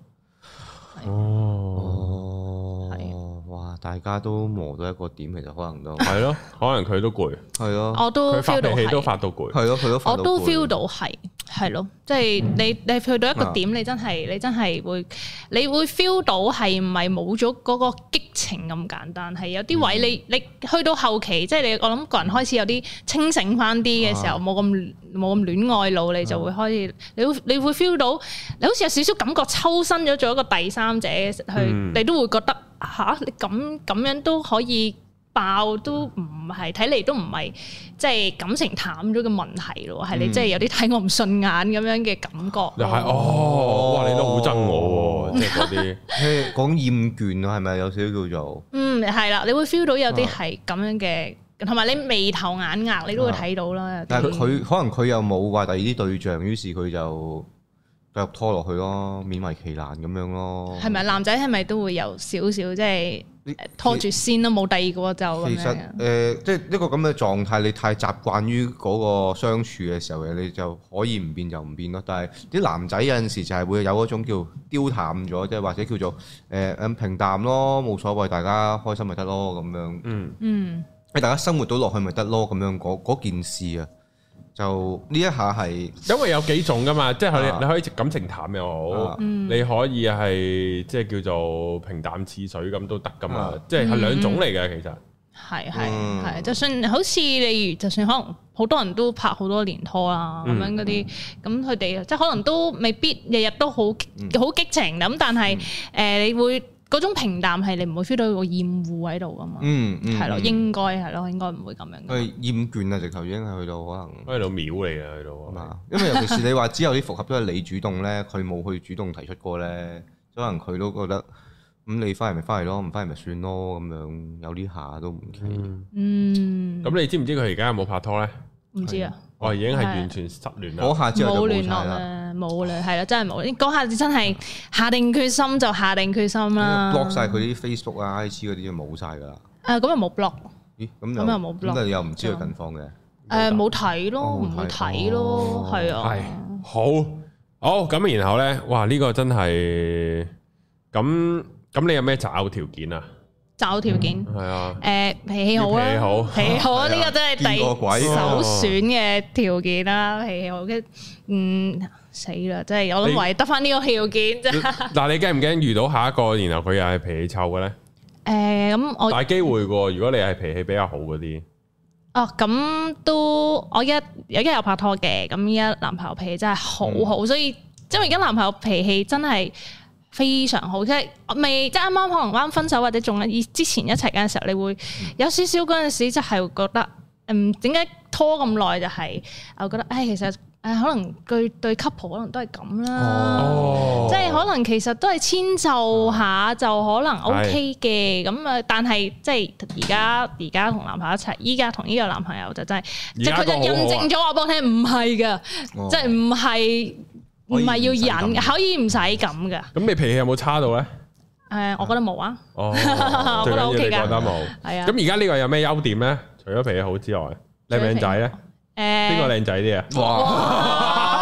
哇！大家都磨到一個點，其實可能都係咯，可能佢都攰，係咯， 我都 feel 到係， 都發到攰， 係咯，佢都發到攰， 我都 feel 到係咯，即係你去到一個點，你真係會，你會 feel 到係唔係冇咗嗰個激情咁簡單，係有啲位你去到後期，即係我諗個人開始有啲清醒翻啲嘅時候，冇咁戀愛腦，你就會開始，你會 feel 到，你好似有少少感覺抽身咗做一個第三者去，你都會覺得。你咁樣都可以爆，都唔係睇嚟都唔係即係感情淡咗嘅問題咯，係你即係有啲睇我唔順眼咁樣嘅感覺。 又係哇！你都好憎我喎，即係嗰啲講厭倦啊，係咪有少少叫做？ 係啦，你會 feel 到有啲係咁樣嘅，同埋你眉頭眼額你都會睇到啦。 但係佢可能佢又冇話第二啲對象，於是佢就繼續拖落去咯，勉為其難咁樣咯。係咪男仔係咪都會有少少即係拖住先咯，冇第二個就咁樣。其實即係一個咁嘅狀態，你太習慣於嗰個相處嘅時候嘅，你就可以唔變就唔變咯。但係啲男仔有陣時就係會有嗰種叫丟淡咗，即係或者叫做平淡咯，冇所謂，大家開心咪得咯咁樣。大家生活到落去咪得咯咁樣嗰件事啊。就呢一下係， 因為有幾種噶嘛，即係你可以感情淡又好，你可以係即係叫做平淡似水咁都得噶嘛，即係兩種嚟嘅其實。 係，就算好似例如，就算可能好多人都拍好多年拖啦，咁樣嗰啲，咁佢哋即係可能都未必日日都好激情咁，但係你會。嗰種平淡係你唔會 feel 到個厭惡喺度噶嘛？係咯，應該唔會咁樣。 佢厭倦啊，直頭已經係去到可能去到秒嚟嘅去到。 因為尤其是你話之後啲復合都係你主動咧，佢冇去主動提出過咧，可能佢都覺得咁你翻嚟咪翻嚟咯，唔翻嚟咪算咯咁樣，有呢下都唔奇。 咁你知唔知佢而家有冇拍拖咧？ 唔知啊。 已經係完全失聯啦， 嗰下之後就冇聯絡啦，冇啦，係啦，真係冇。嗰下真係下定決心就下定決心啦。 block 曬佢啲 Facebook 啊、IG 嗰啲就冇晒㗎啦。 咁又冇 block。 咦？咁又冇 block。咁你又唔知佢近況嘅？ 冇睇咯，唔會睇咯，係啊。 係好咁，然後咧，哇！呢個真係咁，你有咩擇偶條件啊？擇偶條件係啊，脾氣好啦，脾氣好啊，呢個真係第首選嘅條件啦，脾氣好嘅，死啦，真係我諗唯得翻呢個條件啫。嗱，你驚唔驚遇到下一個，然後佢又係脾氣臭嘅咧？ 咁我大機會嘅，如果你係脾氣比較好嗰啲。 咁都我而家有拍拖嘅，咁而家男朋友脾氣真係好好，所以因為而家男朋友脾氣真係。非常好，即係未即係啱啱可能啱分手或者仲之前一齊嘅時候，你會有少少嗰陣時就係覺得，點解拖咁耐就係我覺得，其實可能對 couple 可能都係咁啦，即係可能其實都係遷就下就可能 OK 嘅，咁啊，但係即係而家同男朋友一齊，依家同呢個男朋友就真係，即係佢就印證咗我幫你聽，唔係㗎，即係唔係要忍，可以唔使咁㗎。咁你脾氣有冇差到咧？ 我覺得冇啊。 我覺得 OK 㗎。覺得冇。係啊。咁而家呢個有咩優點咧？除咗脾氣好之外，靚唔靚仔咧？邊個靚仔啲啊？哇！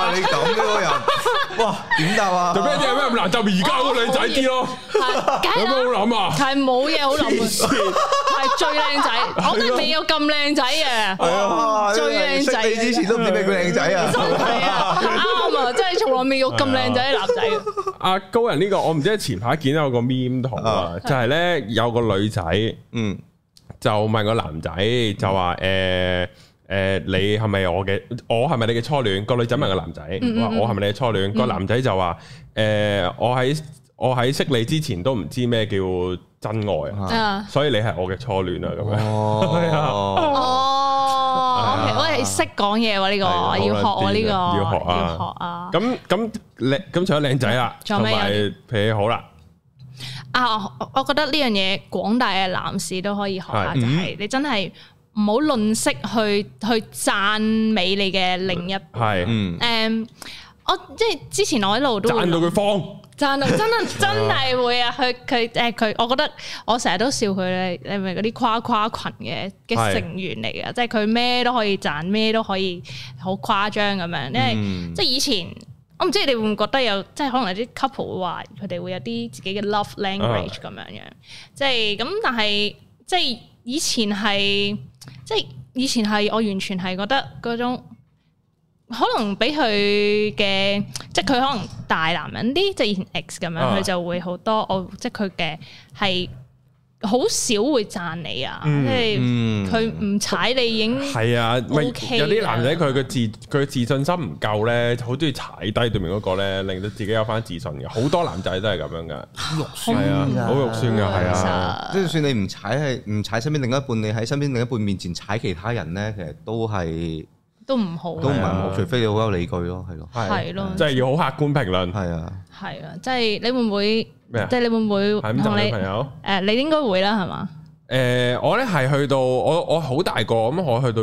啊！你咁嘅個人，哇點答啊？ 做咩啲有咩咁難答？而家嗰個靚仔啲咯，有咩好諗啊？ 係冇嘢好諗啊！係最靚仔，我都未有咁靚仔嘅。係啊，最靚仔。 識你之前都唔知咩叫靚仔啊！ 真係啊，啱啊！真係從來未有咁靚仔嘅男仔。 阿高人呢個，我唔知前排見到有個 meme 圖啊，就係咧有個女仔，就問個男仔就話你係咪我係咪你嘅初戀？個女仔問個男仔話我係咪你嘅初戀？個男仔就話我喺識你之前都唔知咩叫真愛啊，所以你係我嘅初戀啊咁樣。 OK，我係識講嘢喎呢個，要學喎呢個，要學啊。 咁除咗靚仔啦，同埋脾氣好啦。 我覺得呢樣嘢廣大嘅男士都可以學下，就係你真係唔好吝嗇去讚美你嘅另一半。我即係之前我喺度都讚到佢慌， 讚到真係會啊！佢，我覺得我成日都笑佢咧，你係咪嗰啲誇群嘅成員嚟嘅？即係佢咩都可以讚，咩都可以好誇張咁樣。因為即係以前。我唔知你會唔會覺得有，即係可能有啲 couple 會話佢哋會有啲自己嘅 love language 咁樣樣，即係咁。但係即係以前係我完全係覺得嗰種可能俾佢嘅，即係佢可能大男人啲，即係以前 X 咁樣，佢就會好多即係佢嘅係。好少會讚你啊，即係佢唔踩你已經係啊。有啲男仔佢嘅自信心唔夠咧，好中意踩低對面嗰個咧，令到自己有翻自信嘅。好多男仔都係咁樣噶，肉酸啊，好肉酸噶，係啊。 即係算你唔踩身邊另一半，你喺身邊另一半面前踩其他人咧，其實都唔好，都唔係好，除非你好有理據咯，係咯， 係咯， 即係要好客觀評論，係啊， 即係你會唔會？即係你會唔會同你朋友？你應該會啦，係嘛？ 我咧係去到我好大個咁，我去到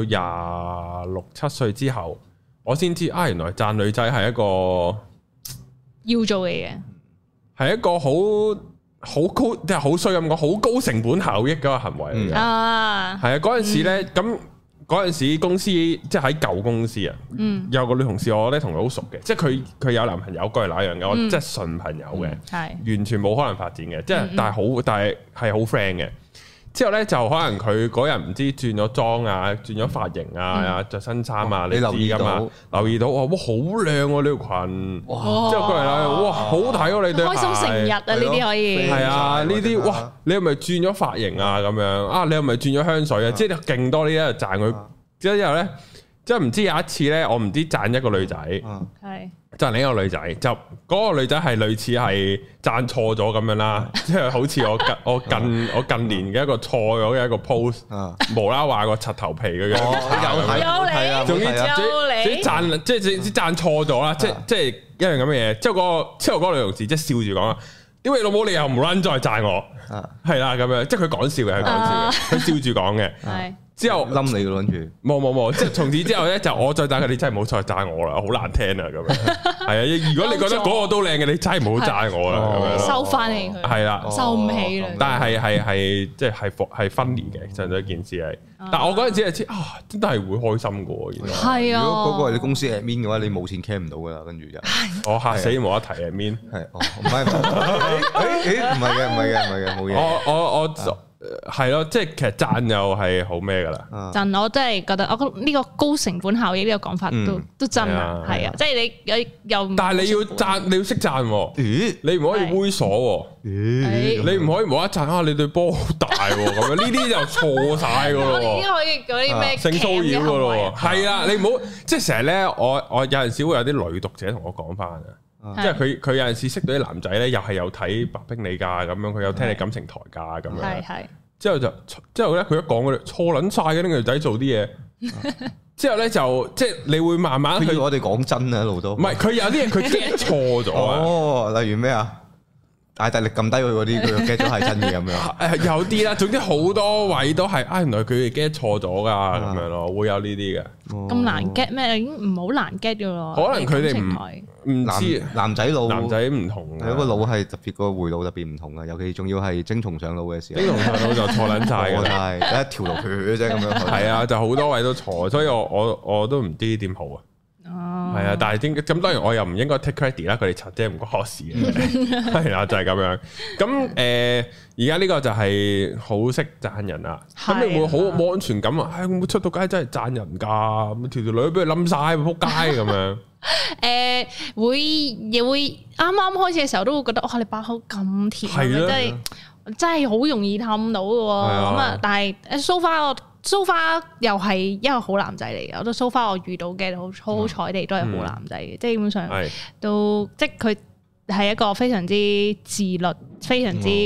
26-27歲之後，我先知原來讚女仔係一個要做嘅嘢，係一個好高，即係好衰咁講，好高成本效益嗰個行為嚟嘅。係啊，嗰陣時咧咁。嗰陣時公司即係喺舊公司啊，有個女同事我咧同佢好熟嘅，即係佢有男朋友，嗰係那樣嘅，我即係純朋友嘅，完全冇可能發展嘅，即係但係係好 friend 嘅。之後咧就可能佢嗰日唔知轉咗妝啊，轉咗髮型啊，着新衫啊，你知噶嘛？留意到哇，好靚喎呢條裙，之後過嚟啦，哇好睇喎你對鞋，開心成日啊呢啲可以，係啊呢啲哇你係咪轉咗髮型啊咁樣你係咪轉咗香水啊？即係勁多呢一日讚佢，之後咧即係唔知有一次咧，我唔知讚一個女仔，係讚另一個女仔，就嗰個女仔係類似係讚錯咗咁樣啦，即係好似我近年嘅一個錯咗嘅一個 post，無啦話個柒頭皮嘅樣，有你，總之讚即係讚錯咗啦，即係一樣咁嘅嘢。之後嗰個女同事即係笑住講啊，點解老母你又唔撚再讚我？係啦咁樣，即係佢講笑嘅，佢笑住講嘅。之後冧你嘅諗住，冇，即係從此之後咧，就我再讚佢，你真係唔好再讚我啦，好難聽啊咁樣。係啊，如果你覺得嗰個都靚嘅，你真係唔好讚我啦咁樣。收翻起佢，係啦，收唔起啦。但係即係分離嘅，上咗一件事係。但係我嗰陣時係知真係會開心嘅，原來。係啊。如果嗰個係你公司 admin 嘅話，你冇錢 cam 唔到噶啦，跟住就。我嚇死冇得提 admin。係，唔係嘅，冇嘢。我。係咯，即係其實讚又係好咩噶啦？讚我真係覺得，我覺得呢個高成本效益呢個講法都真啊，係啊，即係你又但係你要讚，你要識讚，你唔可以猥瑣，你唔可以無啦啦讚你對波好大咁樣，呢啲就錯晒噶咯。呢可以嗰啲咩性騷擾噶咯？係啊，你唔好即係成日咧，我有陣時會有啲女讀者同我講翻啊。即係佢有陣時識到啲男仔咧，又係有睇白兵你㗎咁樣，佢有聽你感情台㗎咁樣。係。之後咧，佢一講嗰啲錯撚晒嘅啲女仔做啲嘢。之後咧就即係你會慢慢去。我哋講真啊，一路都。唔係佢有啲嘢佢 get 錯咗啊。哦，例如咩啊？大力撳低佢嗰啲，佢 get 咗係真嘅咁樣。有啲啦，總之好多位都係原來佢哋 get 錯咗㗎咁樣咯，會有呢啲嘅。咁難 get 咩？已經唔好難 get 㗎咯。可能佢哋唔知男仔腦，男仔唔同，有個腦係特別，個回路特別唔同啊。尤其仲要係精蟲上腦嘅時候，精蟲上腦就錯撚晒㗎啦，得一條路血啫咁樣。係啊，就好多位都錯，所以我都唔知點好啊。 係啊，但係咁當然我又唔應該 take credit 啦，佢哋拆姐唔關我事嘅，係啦，就係咁樣。咁而家呢個就係好識讚人啊，咁你會好冇安全感啊？會唔會出到街真係讚人㗎？咁條女俾佢冧晒，仆街咁樣。 亦會啱啱開始嘅時候都會覺得哇，你把口咁甜，真係好容易氹到嘅喎。咁啊，但係so far 又係一個好男仔嚟嘅，我覺得so far我遇到嘅好彩地都係好男仔嘅，即係基本上都即係佢係一個非常之自律，非常之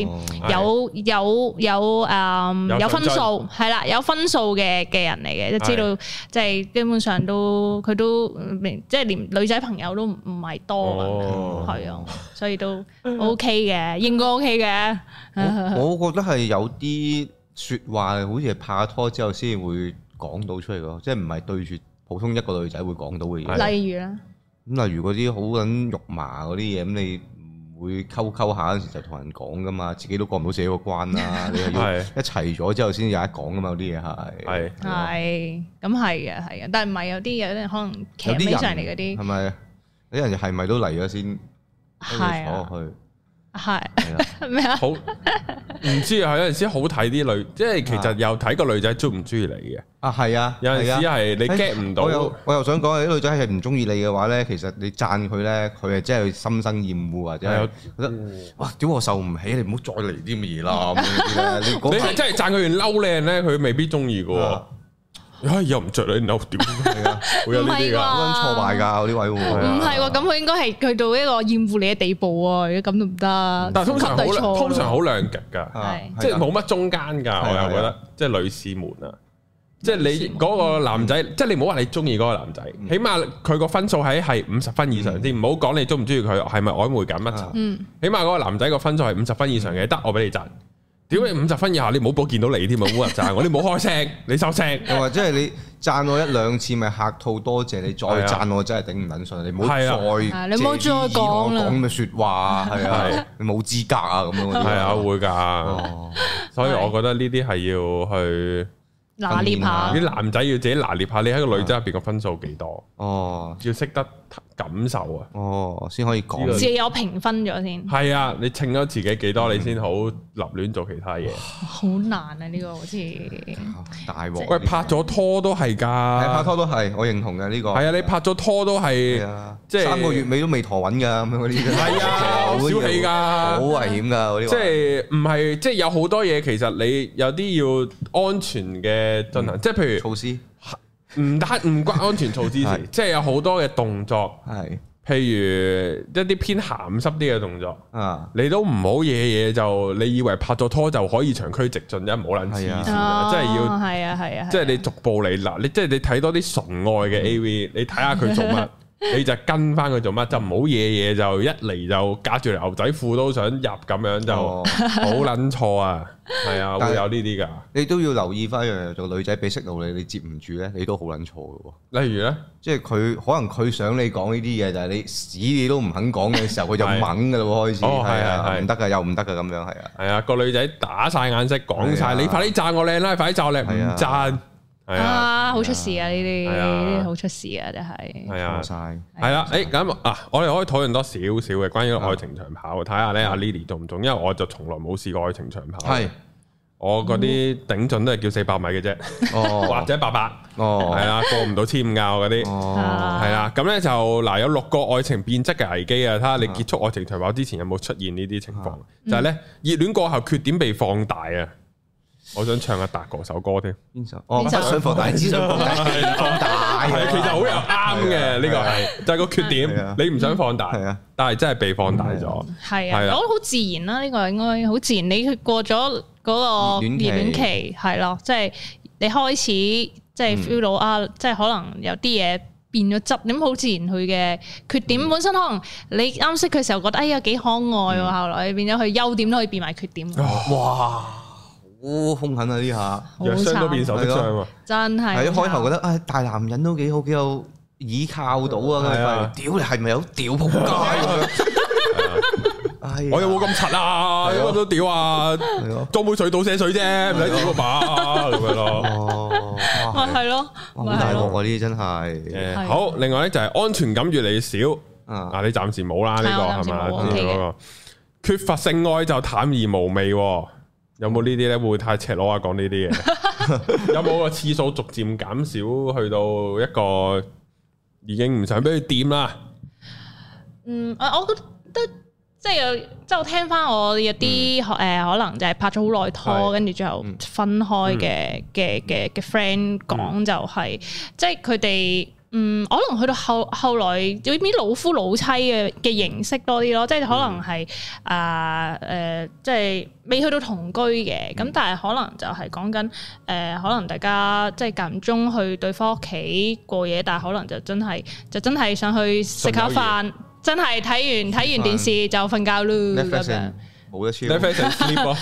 有分數，係啦，有分數嘅人嚟嘅，即知道即係基本上都佢都即係連女仔朋友都唔係多，係啊，所以都 OK 嘅，應該 OK 嘅。 我覺得係有啲説話好似係拍拖之後先會講到出嚟咯，即係唔係對住普通一個女仔會講到嘅嘢。例如咧，咁例如嗰啲好撚肉麻嗰啲嘢，咁你唔會溝下嗰陣時就同人講噶嘛，自己都過唔到自己個關啦。你係要一齊咗之後先有得講噶嘛，嗰啲嘢係。係，咁係嘅，但係唔係有啲可能騎起上嚟嗰啲係咪？有啲人係咪都嚟咗先坐落去？係咩啊？好唔知啊，有陣時好睇啲女，即係其實又睇個女仔中唔中意你嘅。係啊，有陣時係你 get 唔到。 我又想講，啲女仔係唔中意你嘅話咧，其實你讚佢咧，佢係真係心生厭惡或者係覺得哇，屌我受唔起，你唔好再嚟啲咁嘅嘢啦。你係真係讚佢完嬲靚咧，佢未必中意嘅。又唔着你嬲屌，係啊，會有呢啲噶，好挫敗噶，呢位會唔係喎？咁佢應該係去到一個厭惡你嘅地步啊！如果咁都唔得， 但係通常好兩極噶，即係冇乜中間噶。我又覺得，即係女士們啊，即係你嗰個男仔，即係你唔好話你中意嗰個男仔，起碼佢個分數係50分以上先，唔好講你中唔中意佢，係咪曖昧緊乜？起碼嗰個男仔個分數係50分以上嘅，得我俾你讚。屌你50分以下，你唔好俾我見到你添啊！冇人讚我，你唔好開聲，你收聲。 又或者係你讚我一兩次，咪客套多謝你，再讚我真係頂唔撚順。你唔好再， 你唔好再講啦。 講嘅説話係啊，你冇資格啊咁樣。 係啊，會㗎。所以我覺得呢啲係要去拿捏下。 啲男仔要自己拿捏下，你喺個女仔入邊個分數幾多？要識得感受啊！ 先可以講。 自己有評分咗先。 係啊，你稱咗自己幾多，你先好立亂做其他嘢。 好難啊！呢個好似大鑊。 喂，拍咗拖都係㗎。 拍拖都係，我認同嘅呢個。 係啊，你拍咗拖都係，即係 3個月尾都未陀穩㗎咁樣嗰啲。 係啊，好小氣㗎， 好危險㗎嗰啲。 即係唔係？即係有好多嘢，其實你有啲要安全嘅進行，即係譬如措施。 唔關安全措施事，即係有好多嘅動作，譬如一啲偏鹹濕啲嘅動作，你都唔好嘢就你以為拍咗拖就可以長驅直進，一唔好撚黐線，即係要係啊，即係你逐步嚟嗱，你即係你睇多啲純愛嘅 AV，你睇下佢做乜，你就跟翻佢做乜，就唔好嘢就一嚟就隔住條牛仔褲都想入咁樣就好撚錯啊！係啊，會有呢啲㗎。你都要留意翻一樣嘢，做女仔俾息路你接唔住咧，你都好撚錯嘅喎。例如咧，即係佢可能佢想你講呢啲嘢，但係你屎你都唔肯講嘅時候，佢就猛㗎啦喎，開始。係啊，唔得㗎，又唔得㗎咁樣，係啊。係啊，個女仔打晒眼色，講晒你快啲讚我靚啦，快啲讚我靚，唔讚。好出事啊！呢啲好出事啊！真係係啊，係啦，咁我哋可以討論多少少嘅關於愛情長跑，睇下咧阿 Lily 中唔中？因為我就從來冇試過愛情長跑，係我嗰啲頂盡都係叫400米嘅啫，或者800，係啊，過唔到1500嗰啲，係啦。咁咧就嗱有6個愛情變質嘅危機啊！睇下你結束愛情長跑之前有冇出現呢啲情況？就係咧熱戀過後缺點被放大啊！我想唱阿達哥首歌添，邊首？不想放大，只想放大，係其實好有啱嘅呢個係，就係個缺點，你唔想放大，但係真係被放大咗。係啊，我覺得好自然啦，呢個應該好自然。你過咗嗰個熱戀期，係咯，即係你開始即係 feel 到啊，即係可能有啲嘢變咗質，咁好自然佢嘅缺點本身可能你啱識佢時候覺得哎呀幾可愛喎，後來變咗佢優點都可以變埋缺點。哇！好兇狠啊！呢下弱傷都變手的傷啊！真係係一開頭覺得大男人都幾好，幾有倚靠到啊！屌你係咪有屌仆街咁樣？ 我有冇咁柒啊？我都屌啊！裝杯水倒瀉水啫，唔使屌個把咁樣咯。 係咯， 好大鑊啊！呢啲真係。 好，另外咧就係安全感越嚟越少。你暫時冇啦，呢個係嘛？缺乏性愛就淡而無味。有冇呢啲咧？會唔會太赤裸啊？講呢啲嘢，有冇個次數逐漸減少，去到一個已經唔想俾佢掂啦？ 我覺得即係我聽翻我有啲可能就係拍咗好耐拖，跟住最後分開嘅 friend 講就係，即係佢哋。可能去到後來有啲老夫老妻嘅形式多啲咯，即係可能係即係未去到同居嘅，咁但係可能就係講緊可能大家即係間唔中去對方屋企過夜，但係可能就真係想去食下飯，真係睇完電視就瞓覺咯咁樣。 冇得超。 Netflix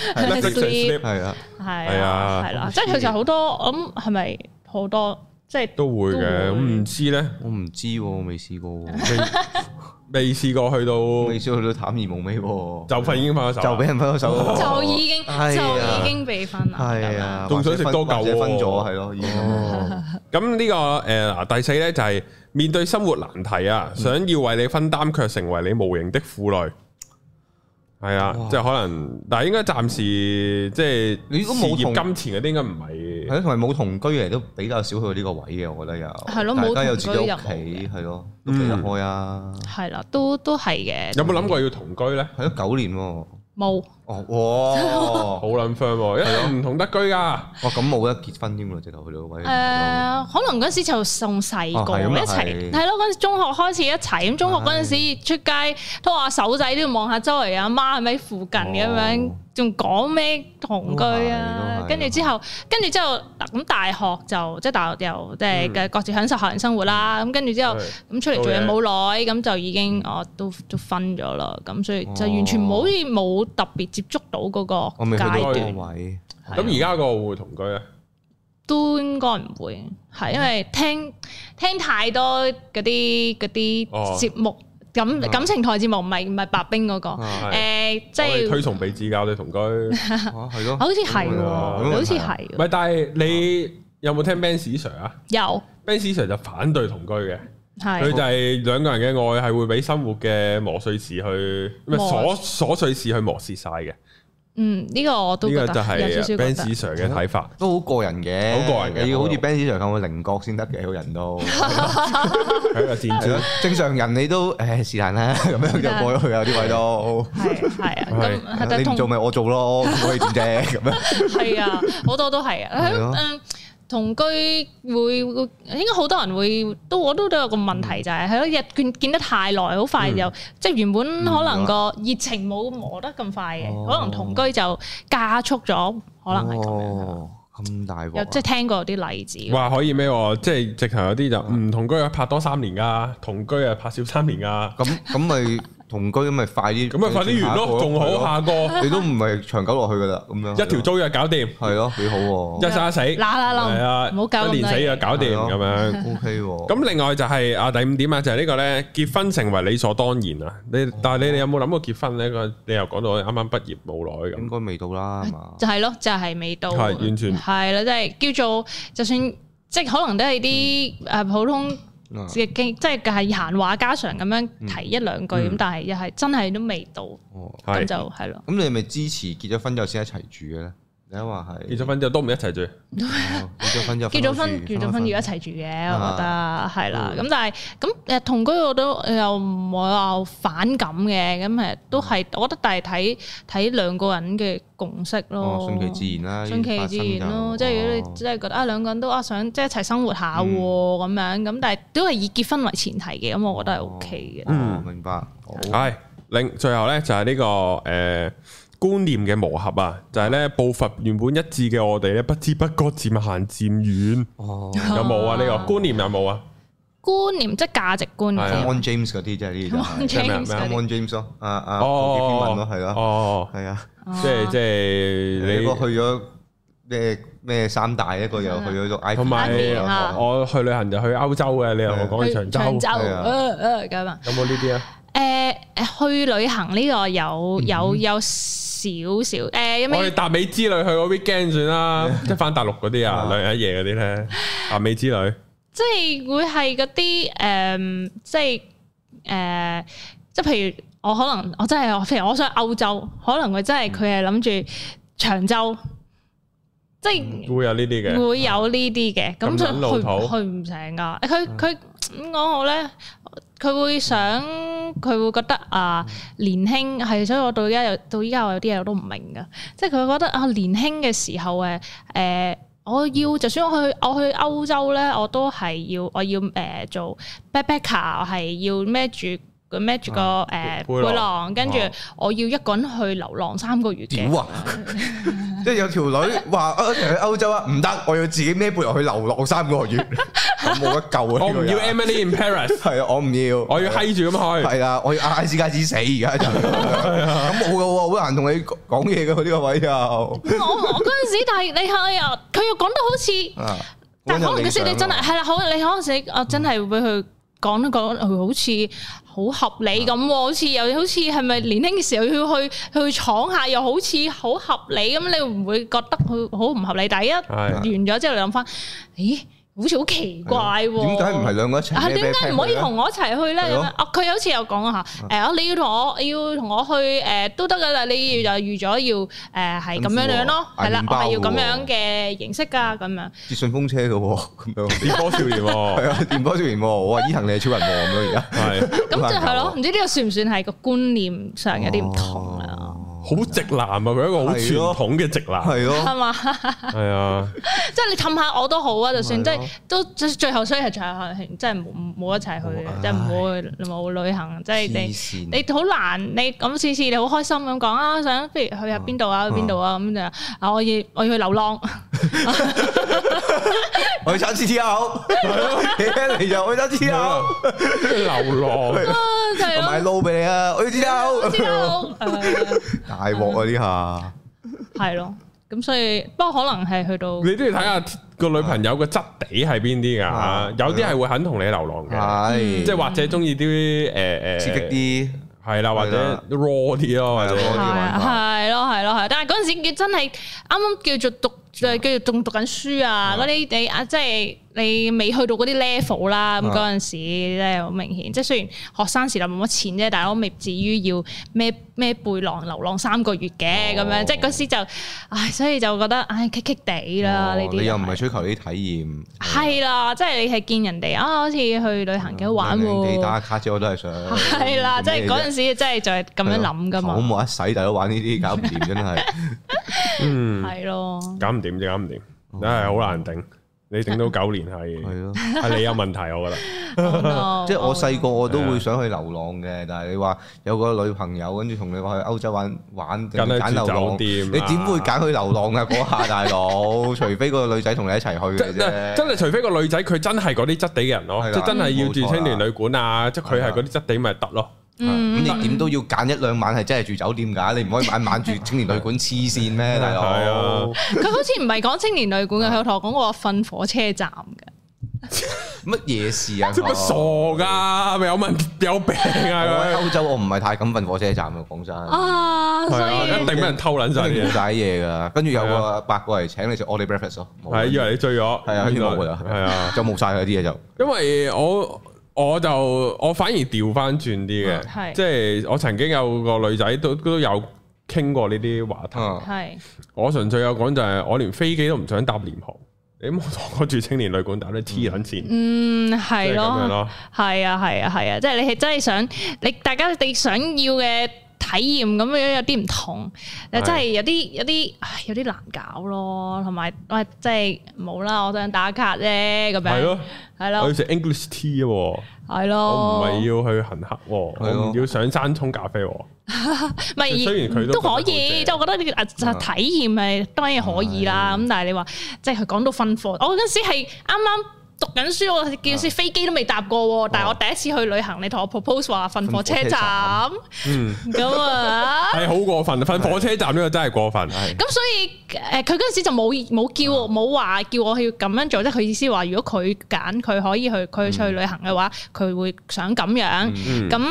sleep 係啊， 係啦，即係其實好多，我諗係咪好多？即係都會嘅，咁唔知咧， 我唔知喎，我未試過， 未試過去到淡而無味喎， 就已經分咗手， 就俾人分咗手， 就已經被分啦， 係啊， 仲想食多嚿喎， 分咗係咯，已經。 咁呢個第四咧就係面對生活難題啊，想要為你分擔，卻成為你無形的負累。係啊，即係可能，但係應該暫時即係你如果冇金錢嗰啲，應該唔係。 係咯，同埋冇同居嚟都比較少去到呢個位嘅，我覺得又係咯，大家有自己屋企，係咯，都避得開啊。係啦，都係嘅。有冇諗過要同居咧？係咯，9年喎。冇。哦，哇，好撚 firm 喎，一定唔同得居㗎。哇，咁冇得結婚添喎，直頭去到位。 可能嗰陣時就仲細個一齊，係咯，嗰陣時中學開始一齊，咁中學嗰陣時出街拖下手仔都要望下周圍阿媽係咪喺附近咁樣，仲講咩同居啊？跟住之後咁大學就即係大學又即係嘅各自享受校園生活啦。咁跟住之後咁出嚟做嘢冇耐，咁就已經都分咗啦。咁所以就完全冇特別接觸到嗰個階段位。 咁而家個會唔會同居咧？ 都應該唔會，係因為聽太多嗰啲節目，感情台節目，唔係白兵嗰個，即係推崇彼此教你同居，係咯， 好似係喎，好似係。 唔係，但係你有冇聽 Benz Sir 啊？有 Benz Sir 就反對同居嘅，佢就係兩個人嘅愛係會俾生活嘅瑣碎事去，瑣碎事去磨蝕晒嘅。 呢個我都覺得有少少 Benz Sir 嘅睇法， 都好個人嘅， 好個人嘅， 你要好似 Benz Sir 咁嘅稜角先得嘅，個人都係一個戰士。正常人你都是但啦，咁樣就過咗去啊，啲位都係啊，咁你唔做咪我做咯，可以點啫咁樣。係啊，好多都係啊。同居會應該好多人我都有個問題就係咯，見得太耐，好快就即係原本可能個熱情冇磨得咁快嘅，可能同居就加速咗，可能係咁樣。咁大鑊！即係聽過有啲例子。哇， 可以咩？即係直頭有啲就唔同居啊，拍多3年噶，同居啊拍少3年噶。 咁咪同居咁咪快啲， 咁咪快啲完咯，仲好下個。你都唔係長久落去噶啦，咁樣一條租約搞掂，係咯，幾好。一生一死，係啊，唔好搞，一年死就搞掂咁樣。 OK。 咁另外就係第5點啊，就係呢個咧，結婚成為理所當然啊。但係你有冇諗過結婚咧？你又講到啱啱畢業冇耐咁，應該未到啦，係嘛？ 就係咯，就係未到， 係完全係啦，即係叫做就算即係可能都係啲普通。即係閒話家常咁樣提一兩句咁，但係又係真係都未到，咁就係咯。 咁你係咪支持結咗婚之後先一齊住嘅咧？你話係結咗婚之後都唔一齊住， 結咗婚要一齊住嘅，我覺得係啦。咁但係咁同居我都又唔會話反感嘅，咁誒都係我覺得，但係睇兩個人嘅共識咯， 順其自然啦， 順其自然咯。即係如果你真係覺得兩個人都想即係一齊生活下喎咁樣，咁但係都係以結婚為前提嘅，咁我覺得係 OK 嘅。 明白。 係最後咧就係呢個觀念嘅磨合啊，就係咧步伐原本一致嘅我哋咧，不知不覺漸行漸遠。有冇啊？呢個觀念有冇啊？ 觀念即係價值觀念。 Mon James 嗰啲即係呢啲。Mon James 咯，嗰幾篇文咯，係咯。係啊， 即係你個去咗咩三大，一個又去咗埃及， 同埋我去旅行就去歐洲嘅，你又講去長洲。 咁啊。 有冇呢啲啊？ 去旅行呢個有少少有咩？ 我哋達美之旅去嗰 weekend 算啦，即係翻大陸嗰啲啊，2日1夜嗰啲咧，達美之旅， 即係會係嗰啲即係譬如我可能我真係譬如我想歐洲，可能佢真係佢係諗住長洲，即係會有呢啲嘅，會有呢啲嘅，咁就去唔成噶。佢點講好咧？佢會覺得年輕係，所以我到依家我有啲嘢我都唔明噶，即係佢會覺得年輕嘅時候我要就算我去歐洲咧，我都係要做 backpacker， 係要孭住個背囊，跟住我要一個人去流浪3個月嘅。 即係有條女話去歐洲啊，唔得，我要自己孭背囊去流浪3個月，我冇得救啊！ 我唔要 Emily in Paris， 係啊，我唔要，我要閪住咁去，係啊，我要嗌斯加斯死而家就咁冇噶喎，好難同你講嘢噶呢個位又。我嗰陣時，但係你係啊，佢又講得好似，但係可能嗰時你真係係啦，好你嗰陣時我真係會去。講好似好合理咁，好似係咪年輕嘅時候要去闖下，又好似好合理咁，你會唔會覺得佢好唔合理？第一完咗之後，你諗翻，咦？好似好奇怪喎！ 點解唔係兩個一齊？ 點解唔可以同我一齊去咧？咁樣佢好似有講下你要同我去都得噶啦，你就預咗要係咁樣咯，係啦，我係要咁樣嘅形式噶咁樣。 接順風車嘅喎，咁樣電波少年喎，係啊，電波少年喎，我話伊藤你係超人喎咁樣而家。係咁就係咯，唔知呢個算唔算係個觀念上有啲唔同啊？ 好直男啊！佢一個好傳統嘅直男，係咯， 係嘛？係啊，即係你氹下我都好啊，就算即係都最後，所以係最後係即係冇一齊去嘅，即係冇旅行，即係你好難，你咁次次你好開心咁講啊，想不如去下邊度啊，去邊度啊咁就我要去流浪， 我去參 CTO， 你就去參 CTO， 流浪， 我買撈俾你啊，我要 CTO。大鑊啊！呢下係咯，咁所以不過可能係去到你都要睇下個女朋友嘅質地係邊啲㗎，有啲係會肯同你流浪嘅，即係或者中意啲刺激啲， 係啦，或者 raw 啲咯，或者係咯，但係嗰陣時真係啱啱叫做仲讀緊書啊，嗰啲你即係。你未去到嗰啲 level 啦，咁嗰陣時咧好明顯，即係雖然學生時代冇乜錢啫，但係我未至於要孭背囊流浪3個月嘅咁樣，即係嗰時就，所以就覺得棘棘地啦呢啲。 你又唔係追求啲體驗？ 係啦，即係你係見人哋好似去旅行幾好玩喎。 你打卡啫，我都係想。 係啦，即係嗰陣時真係就係咁樣諗噶嘛。 好冇得使，大佬玩呢啲搞唔掂真係。 係咯。 搞唔掂就搞唔掂，真係好難頂。你頂到9年係你有問題，我覺得。 即係我細個我都會想去流浪嘅，但係你話有個女朋友跟住同你話去歐洲玩，揀流浪，你點會揀去流浪啊？嗰下大佬，除非個女仔同你一齊去嘅啫。真係除非個女仔佢真係嗰啲質地嘅人咯，即係真係要住青年旅館啊，即係佢係嗰啲質地咪得咯。 咁你點都要揀1-2晚係真係住酒店㗎，你唔可以晚晚住青年旅館黐線咩，大佬？ 佢好似唔係講青年旅館嘅，佢同我講過瞓火車站嘅。 乜嘢事啊？ 即係傻㗎，咪有病啊！ 我喺歐洲我唔係太敢瞓火車站嘅，講真。 所以一定俾人偷撚晒啲嘢㗎。跟住有個伯過嚟請你食 all day breakfast 咯。 係以為你醉咗。係啊，冇㗎啦。係啊，就冇晒嗰啲嘢就。因為我反而調翻轉啲嘅，即係我曾經有個女仔都有傾過呢啲話題。係我純粹有講就係我連飛機都唔想搭廉航，你冇同我住青年旅館打啲黐撚線。 係咯，係啊，即係你係真係想大家你想要嘅體驗咁樣有啲唔同，真係有啲難搞咯，同埋即係冇啦，我想打卡啫咁樣。係咯， 我要食 English tea 喎。 係咯， 我唔係要去行乞，我唔要上山沖咖啡。 咪雖然佢都可以，即係我覺得呢個體驗係當然可以啦。咁但係你話即係佢講到瞓火，我嗰陣時係啱啱讀緊書，我叫時飛機都未搭過，但係我第一次去旅行，你同我 propose 話瞓火車站，咁啊，係好過分，瞓火車站呢個真係過分。 咁所以佢嗰陣時就冇話叫我去咁樣做，即係佢意思話，如果佢揀佢可以去佢出去旅行嘅話，佢會想咁樣咁。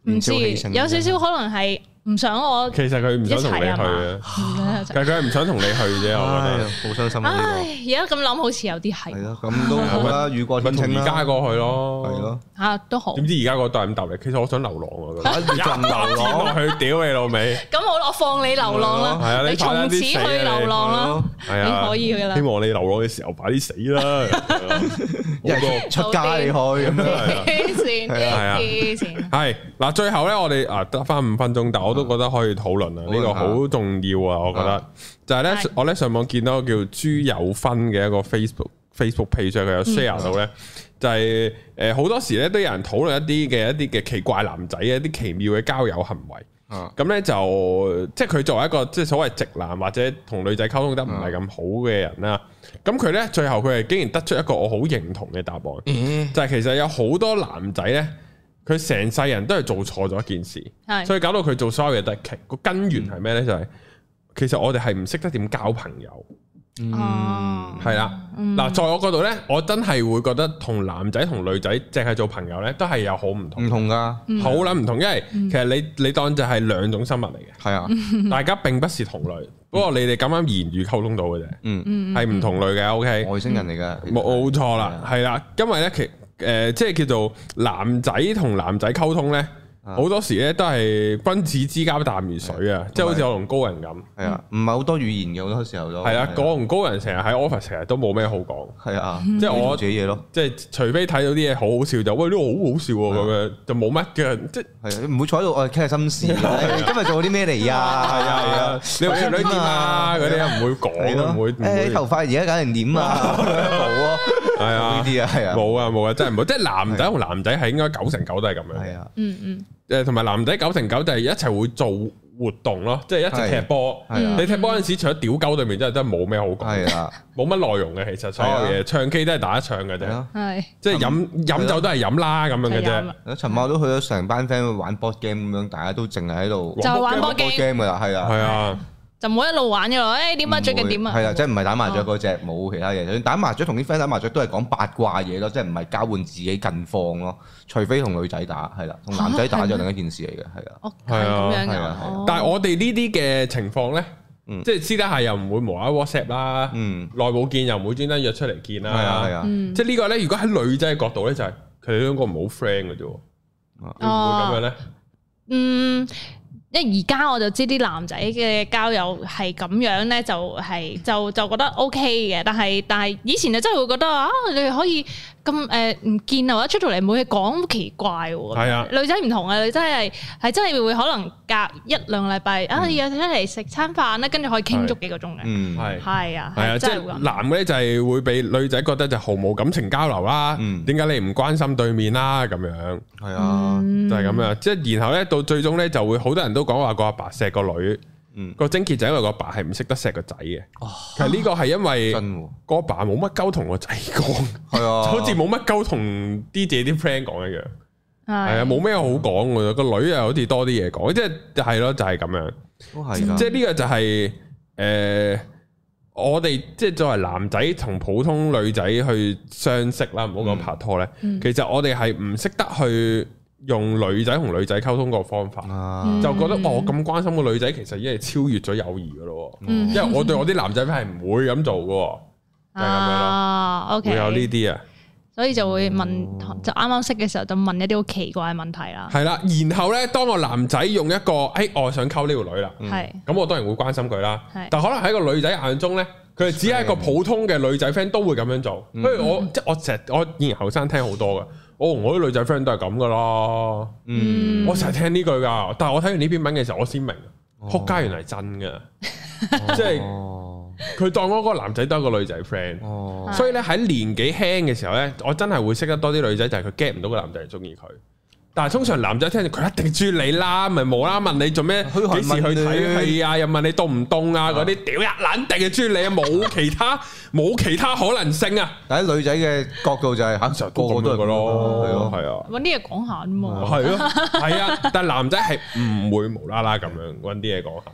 唔知有少少可能係。唔想我， 其實佢唔想同你去啊，其實佢係唔想同你去啫，我覺得好傷心啊！ 唉，而家咁諗好似有啲係。 係咯，咁都好啦，雨過天晴啦， 而家過去咯， 係咯， 都好。 點知而家個都係咁答你？其實我想流浪啊， 一陣流浪落去，屌你老味！ 咁好，我放你流浪啦，你從此去流浪啦，你可以噶啦。 希望你流浪嘅時候快啲死啦， 一係出街你去咁樣。 黐線，黐線。係嗱，最後咧，我哋得翻5分鐘，但我都覺得可以討論啊，呢個好重要啊，我覺得就係咧，我咧上網見到個叫朱有芬嘅一個 Facebook page，佢有 share 到咧，就係好多時咧都有人討論一啲嘅奇怪男仔一啲奇妙嘅交友行為。咁咧就即係佢作為一個即係所謂直男或者同女仔溝通得唔係咁好嘅人啦，咁佢咧最後佢係竟然得出一個我好認同嘅答案，就係其實有好多男仔咧，佢成世人都係做錯咗一件事，所以搞到佢做所有嘢都係奇。個根源係咩咧？就係其實我哋係唔識得點交朋友。係啦，嗱，在我嗰度咧，我真係會覺得同男仔同女仔淨係做朋友咧，都係有好唔同， 唔同噶， 好撚唔同，因為其實你當就係兩種生物嚟嘅，係啊，大家並不是同類，不過你哋咁啱言語溝通到嘅啫，係唔同類嘅，OK， 外星人嚟嘅， 冇錯啦，係啦，因為咧即係叫做男仔同男仔溝通咧。好多時咧都係君子之交淡如水啊，即係好似我同高人咁。係啊，唔係好多語言嘅好多時候都。係啊，我同高人成日喺 office 成日都冇咩好講。係啊，即係我自己嘢咯。即係除非睇到啲嘢好好笑就，喂呢個好好笑喎咁樣，就冇乜嘅。即係唔會坐喺度我哋傾下心事。今日做啲咩嚟啊？係啊， 你條女點啊？嗰啲唔會講，唔會。 誒頭髮而家搞成點啊？冇啊，係啊，呢啲啊，係啊， 冇啊，真係冇。即係男仔同男仔係應該9成9都係咁樣。係啊，同埋男仔9成9就係一齊會做活動咯，即係一齊踢波。你踢波嗰陣時，除咗屌鳩對面，真係冇咩好講。係啊，冇乜內容嘅，其實所有嘢唱 K 都係打一唱嘅啫。係，即係飲酒都係飲啦咁樣嘅啫。 尋晚都去咗成班 friend 去玩 board game 咁樣，大家都淨係喺度就玩 board game 噶啦，係啊，係啊。 就唔好一路玩嘅咯，點啊最近點啊？ 係啦，即係唔係打麻雀嗰隻，冇其他嘢。就算打麻雀同啲 friend 打麻雀都係講八卦嘢咯，即係唔係交換自己近況咯。除非同女仔打，係啦，同男仔打就另一件事嚟嘅，係啊。 係咁樣嘅。 但係我哋呢啲嘅情況咧，即係私底下又唔會無啦啦 WhatsApp 啦，耐冇見又唔會專登約出嚟見啦。係啊係啊，即係呢個咧，如果喺女仔嘅角度咧，就係佢哋兩個唔好 friend 嘅啫，會唔會咁樣咧？ 因為而家我就知啲男仔嘅交友係咁樣咧，就覺得 OK 嘅，但係以前就真係會覺得啊，你哋可以咁唔見啊，或者出到嚟冇嘢講，好奇怪喎。係啊，女仔唔同啊，女仔係真係會可能隔1-2個禮拜啊，約出嚟食餐飯咧，跟住可以傾足幾個鐘嘅。係啊， 即係男嘅咧就係會俾女仔覺得就毫無感情交流啦。點解你唔關心對面啦？咁樣係啊，就係咁樣。即係然後咧到最終咧就會好多人都講話個阿爸錫個女。個症結就係因為個爸係唔識得錫個仔嘅，其實呢個係因為個阿爸冇乜鳩同個仔講，係啊，好似冇乜鳩同啲自己啲 friend 講一樣，係啊，冇咩好講嘅，個女又好似多啲嘢講，即係咯，就係咁樣，都係，即係呢個就係我哋即係作為男仔同普通女仔去相識啦，唔好講拍拖咧，其實我哋係唔識得去用女仔同女仔溝通個方法，就覺得我咁關心個女仔，其實已經係超越咗友誼噶咯。因為我對我啲男仔係唔會咁做噶，就係咁樣咯。OK，會有呢啲啊， 所以就會問，就啱啱識嘅時候就問一啲好奇怪嘅問題啦。 係啦，然後咧，當個男仔用一個我想溝呢條女啦，係咁，我當然會關心佢啦。但可能喺個女仔眼中咧，佢只係一個普通嘅女仔 friend 都會咁樣做。不如我以前後生聽好多噶。我同我啲女仔 friend 都係咁噶啦，我成日聽呢句噶，但係我睇完呢篇文嘅時候，我先明，仆街原來係真噶，即係佢當嗰個男仔都係個女仔 friend，所以咧喺年紀輕嘅時候咧，我真係會識得多啲女仔，就係佢 get 唔到個男仔係中意佢。但係通常男仔聽住佢一定中意你啦，咪冇啦問你做咩，幾時去睇戲啊？又問你凍唔凍啊？嗰啲屌一撚定係中意你啊！冇其他可能性啊！ 但係女仔嘅角度就係嚇，個個都係咁咯，係啊， 揾啲嘢講下啊嘛， 係咯，係啊，但係男仔係唔會無啦啦咁樣揾啲嘢講下嘅。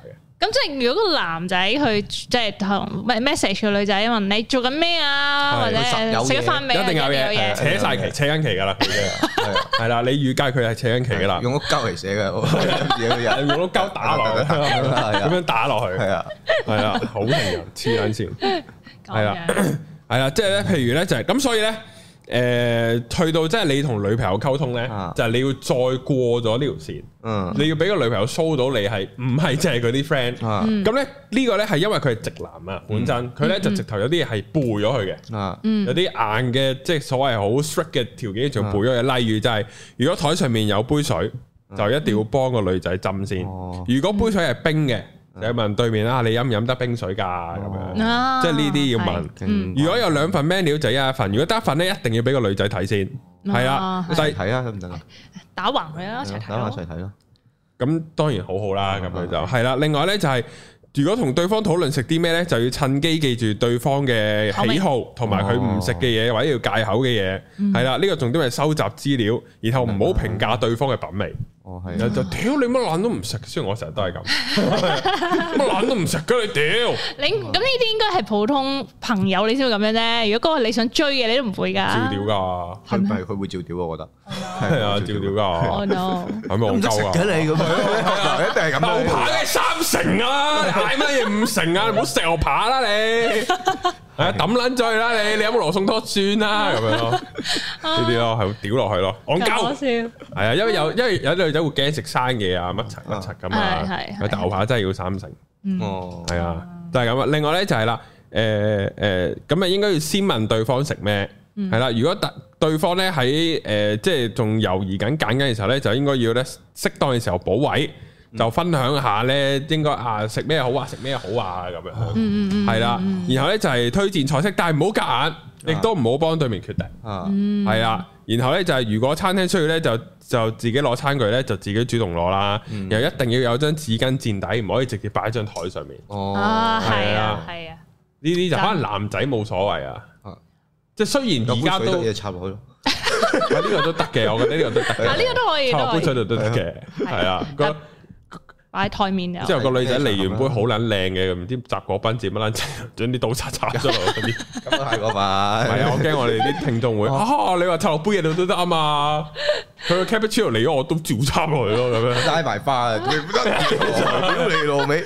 咁即係如果個男仔去即係同 message 個女仔問你做緊咩啊，或者食咗飯未？ 一定有嘢，扯晒旗，扯緊旗㗎啦，係啦，你預計佢係扯緊旗㗎啦， 用個膠嚟寫嘅， 用個膠打落去，咁樣打落去，係啊，好型人黐撚線，係啦，即係咧，譬如咧就係咁，所以咧。去到即係你同女朋友溝通咧，就係你要再過咗呢條線，你要俾個女朋友 show 到你係唔係淨係佢啲 friend，咁咧呢個咧係因為佢係直男啊，本身佢咧就直頭有啲嘢係背咗佢嘅，有啲硬嘅即係所謂好 strict 嘅條件就背咗嘅，例如就係如果台上面有杯水，就一定要幫個女仔斟先，如果杯水係冰嘅。就問對面啦，你飲唔飲得冰水㗎？咁樣，即係呢啲要問。如果有兩份 menu 就一份，如果得一份咧，一定要俾個女仔睇先。係啊，一齊睇啊，得唔得啊？ 打橫佢啦，一齊睇咯。 咁當然好好啦，咁佢就係啦。另外咧就係，如果同對方討論食啲咩咧，就要趁機記住對方嘅喜好，同埋佢唔食嘅嘢或者要戒口嘅嘢。係啦，呢個重點係收集資料，然後唔好評價對方嘅品味。係就屌你乜撚都唔食，雖然我成日都係咁，乜撚都唔食㗎你屌！ 你咁呢啲應該係普通朋友你先會咁樣啫。如果嗰個你想追嘅，你都唔會㗎。照屌㗎， 係咪佢會照屌？我覺得係啊，照屌㗎。 Oh no！ 係咪戇鳩啊？ 嘅你咁樣，一定係咁。 牛扒嘅3成啊！嗌乜嘢5成啊？你唔好食牛扒啦你！係啊，抌撚咗去啦你！你有冇羅宋湯算啦咁樣咯？呢啲咯係屌落去咯，戇鳩。係啊，因為有女仔會驚食生嘢啊，乜柒咁啊。係牛扒真係要3成。哦，係啊，就係咁啊。另外咧就係啦，咁啊應該要先問對方食咩。係啦，如果對方咧喺即係仲猶豫緊揀緊嘅時候咧，就應該要咧適當嘅時候補位。就分享下咧，應該食咩好啊，食咩好啊咁樣，係啦。然後咧就係推薦菜式，但係唔好夾硬，亦都唔好幫對面決定，係啦。然後咧就係如果餐廳需要咧，就自己攞餐具咧，就自己主動攞啦。又一定要有張紙巾墊底，唔可以直接擺喺張台上面。哦，係啊，係啊。呢啲就可能男仔冇所謂啊。即係雖然而家都嘢插落去咯，呢個都得嘅，我覺得呢個都得嘅。呢個都可以，插杯水度都得嘅，係啊。 擺喺台面之後個女仔嚟完杯好撚靚嘅，唔知雜果賓治乜撚，將啲刀叉插咗落嗰啲， 咁都係嗰份。係啊，我驚我哋啲聽眾會你話插落杯嘢度都得啊嘛，佢個 cappuccino 嚟咗我都照插落去咯，咁樣拉埋花啊，屌你老味，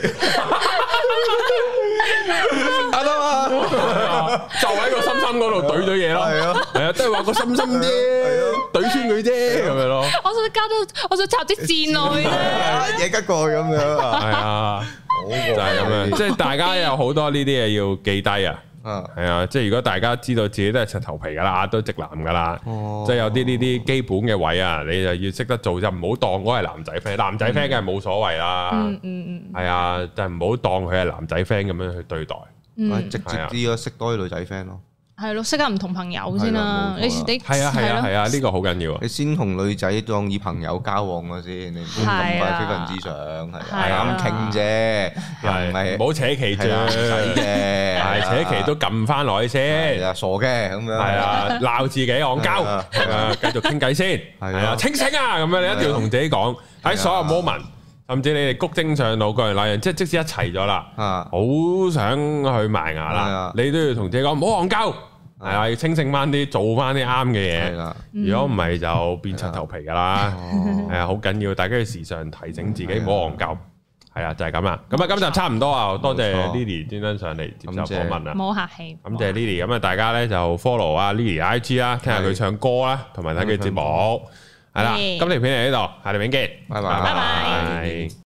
得嘛， 就喺個心心嗰度懟咗嘢咯，係啊，都係話個心心啫，懟穿佢啫，咁樣咯。 我想插啲箭落去嘢吉過去咁樣， 係啊，就係咁樣，即係大家有好多呢啲嘢要記低啊，係啊，即係如果大家知道自己都係石頭皮噶啦，都直男噶啦，即係有啲呢啲基本嘅位啊，你就要識得做，就唔好當嗰係男仔 friend，男仔 friend 梗係冇所謂啦，係啊，但係唔好當佢係男仔 friend 咁樣去對待， 直接啲咯，識多啲女仔 friend 咯。 係咯，識下唔同朋友先啦。你係啊，呢個好緊要啊！ 你先同女仔當以朋友交往嘅先，你唔好咁快非分之想，係咁傾啫，又唔係唔好扯旗啫，唔使嘅，係扯旗都撳翻落去先， 傻嘅咁樣， 係啊，鬧自己戇鳩，繼續傾偈先，係啊，清醒啊，咁樣你一定要同自己講喺所有 moment。甚至你哋谷精上腦嗰樣那樣，即使一齊咗啦，好想去埋牙啦，你都要同自己講唔好戇鳩，係啊，要清醒翻啲，做翻啲啱嘅嘢。如果唔係就變柒頭皮噶啦，係啊，好緊要，大家要時常提醒自己唔好戇鳩。係啊，就係咁啦。咁啊，今集差唔多啊，多謝 Lily 專登上嚟接受訪問啊， 冇客氣。 感謝 Lily，咁啊，大家咧就 follow 啊 Lily IG 啦，聽下佢唱歌啦，同埋睇佢節目。係啦，今條片嚟呢度，下條片見，拜拜。